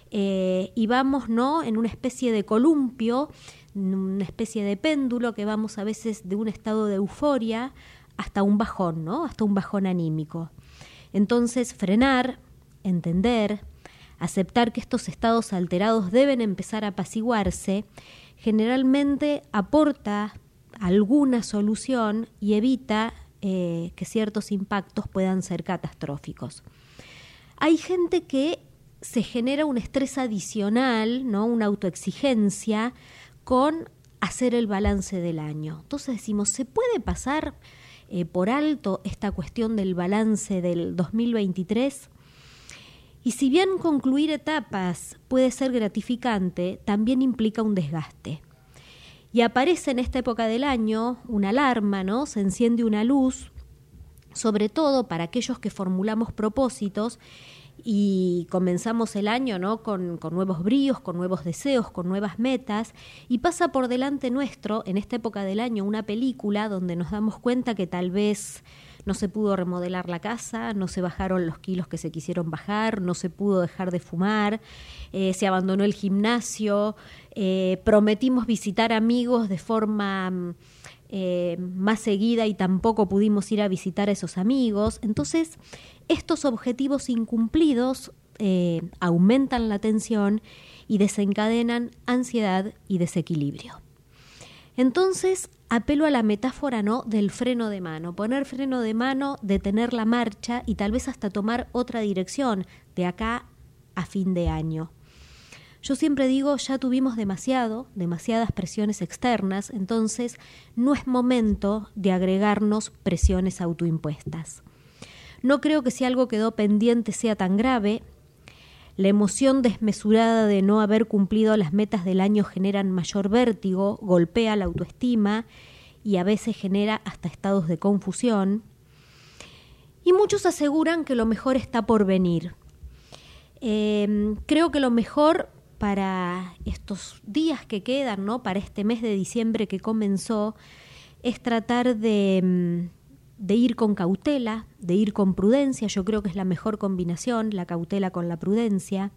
Eh, y vamos, ¿no? En una especie de columpio, una especie de péndulo que vamos a veces de un estado de euforia hasta un bajón, ¿no? Hasta un bajón anímico. Entonces, frenar, entender, aceptar que estos estados alterados deben empezar a apaciguarse, generalmente aporta alguna solución y evita eh, que ciertos impactos puedan ser catastróficos. Hay gente que se genera un estrés adicional, ¿no? Una autoexigencia con hacer el balance del año. Entonces decimos, ¿se puede pasar eh, por alto esta cuestión del balance del dos mil veintitrés? Y si bien concluir etapas puede ser gratificante, también implica un desgaste. Y aparece en esta época del año una alarma, ¿no? Se enciende una luz, sobre todo para aquellos que formulamos propósitos y comenzamos el año, ¿no? con, con nuevos bríos, con nuevos deseos, con nuevas metas, y pasa por delante nuestro, en esta época del año, una película donde nos damos cuenta que tal vez no se pudo remodelar la casa, no se bajaron los kilos que se quisieron bajar, no se pudo dejar de fumar, eh, se abandonó el gimnasio, eh, prometimos visitar amigos de forma eh, más seguida y tampoco pudimos ir a visitar a esos amigos. Entonces, estos objetivos incumplidos eh, aumentan la tensión y desencadenan ansiedad y desequilibrio. Entonces apelo a la metáfora, ¿no?, del freno de mano, poner freno de mano, detener la marcha y tal vez hasta tomar otra dirección de acá a fin de año. Yo siempre digo, ya tuvimos demasiado, demasiadas presiones externas, entonces no es momento de agregarnos presiones autoimpuestas. No creo que si algo quedó pendiente sea tan grave. La emoción desmesurada de no haber cumplido las metas del año genera mayor vértigo, golpea la autoestima y a veces genera hasta estados de confusión. Y muchos aseguran que lo mejor está por venir. Eh, creo que lo mejor para estos días que quedan, ¿no?, para este mes de diciembre que comenzó, es tratar de, de ir con cautela, de ir con prudencia. Yo creo que es la mejor combinación, la cautela con la prudencia.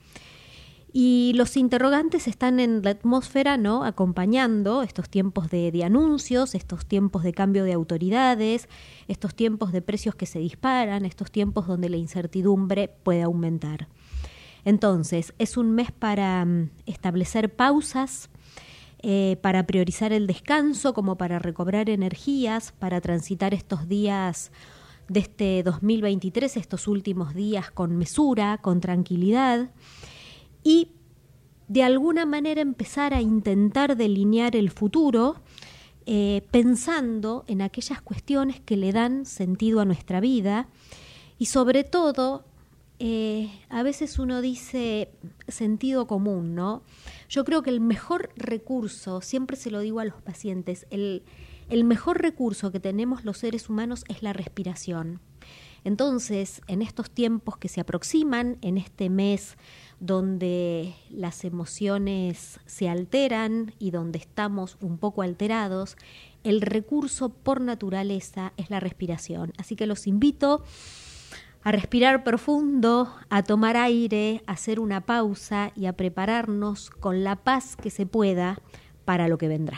Y los interrogantes están en la atmósfera, ¿no?, acompañando estos tiempos de, de anuncios, estos tiempos de cambio de autoridades, estos tiempos de precios que se disparan, estos tiempos donde la incertidumbre puede aumentar. Entonces, es un mes para um, establecer pausas, eh, para priorizar el descanso, como para recobrar energías, para transitar estos días de este dos mil veintitrés, estos últimos días con mesura, con tranquilidad, y de alguna manera empezar a intentar delinear el futuro, eh, pensando en aquellas cuestiones que le dan sentido a nuestra vida y sobre todo, Eh, a veces uno dice sentido común, ¿no? Yo creo que el mejor recurso, siempre se lo digo a los pacientes, el, el mejor recurso que tenemos los seres humanos es la respiración. Entonces, en estos tiempos que se aproximan, en este mes donde las emociones se alteran y donde estamos un poco alterados, el recurso por naturaleza es la respiración. Así que los invito a respirar profundo, a tomar aire, a hacer una pausa y a prepararnos con la paz que se pueda para lo que vendrá.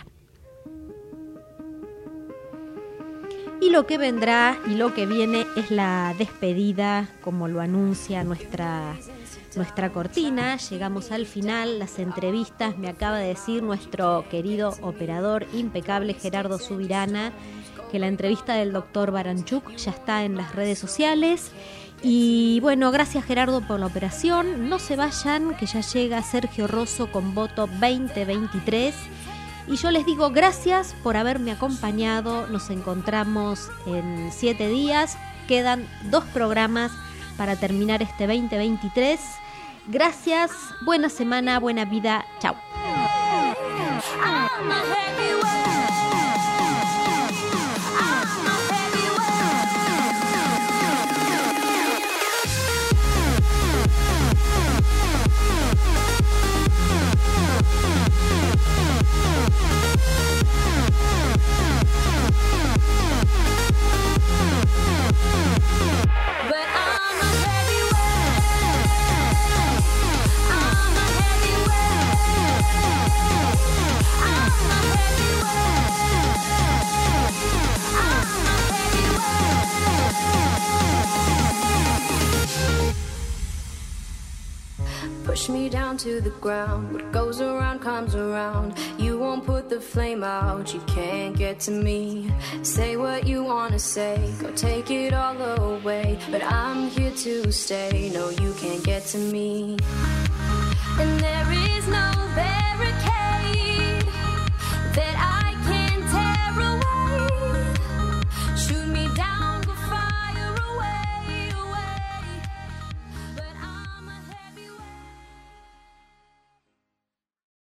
Y lo que vendrá y lo que viene es la despedida, como lo anuncia nuestra, nuestra cortina. Llegamos al final, las entrevistas, me acaba de decir nuestro querido operador impecable Gerardo Subirana, que la entrevista del doctor Baranchuk ya está en las redes sociales. Y bueno, gracias Gerardo por la operación. No se vayan, que ya llega Sergio Rosso con voto veinte veintitrés. Y yo les digo gracias por haberme acompañado. Nos encontramos en siete días. Quedan dos programas para terminar este veinte veintitrés. Gracias, buena semana, buena vida. Chao. Push me down to the ground. What goes around comes around. You won't put the flame out. You can't get to me. Say what you wanna say. Go take it all away. But I'm here to stay. No, you can't get to me. And there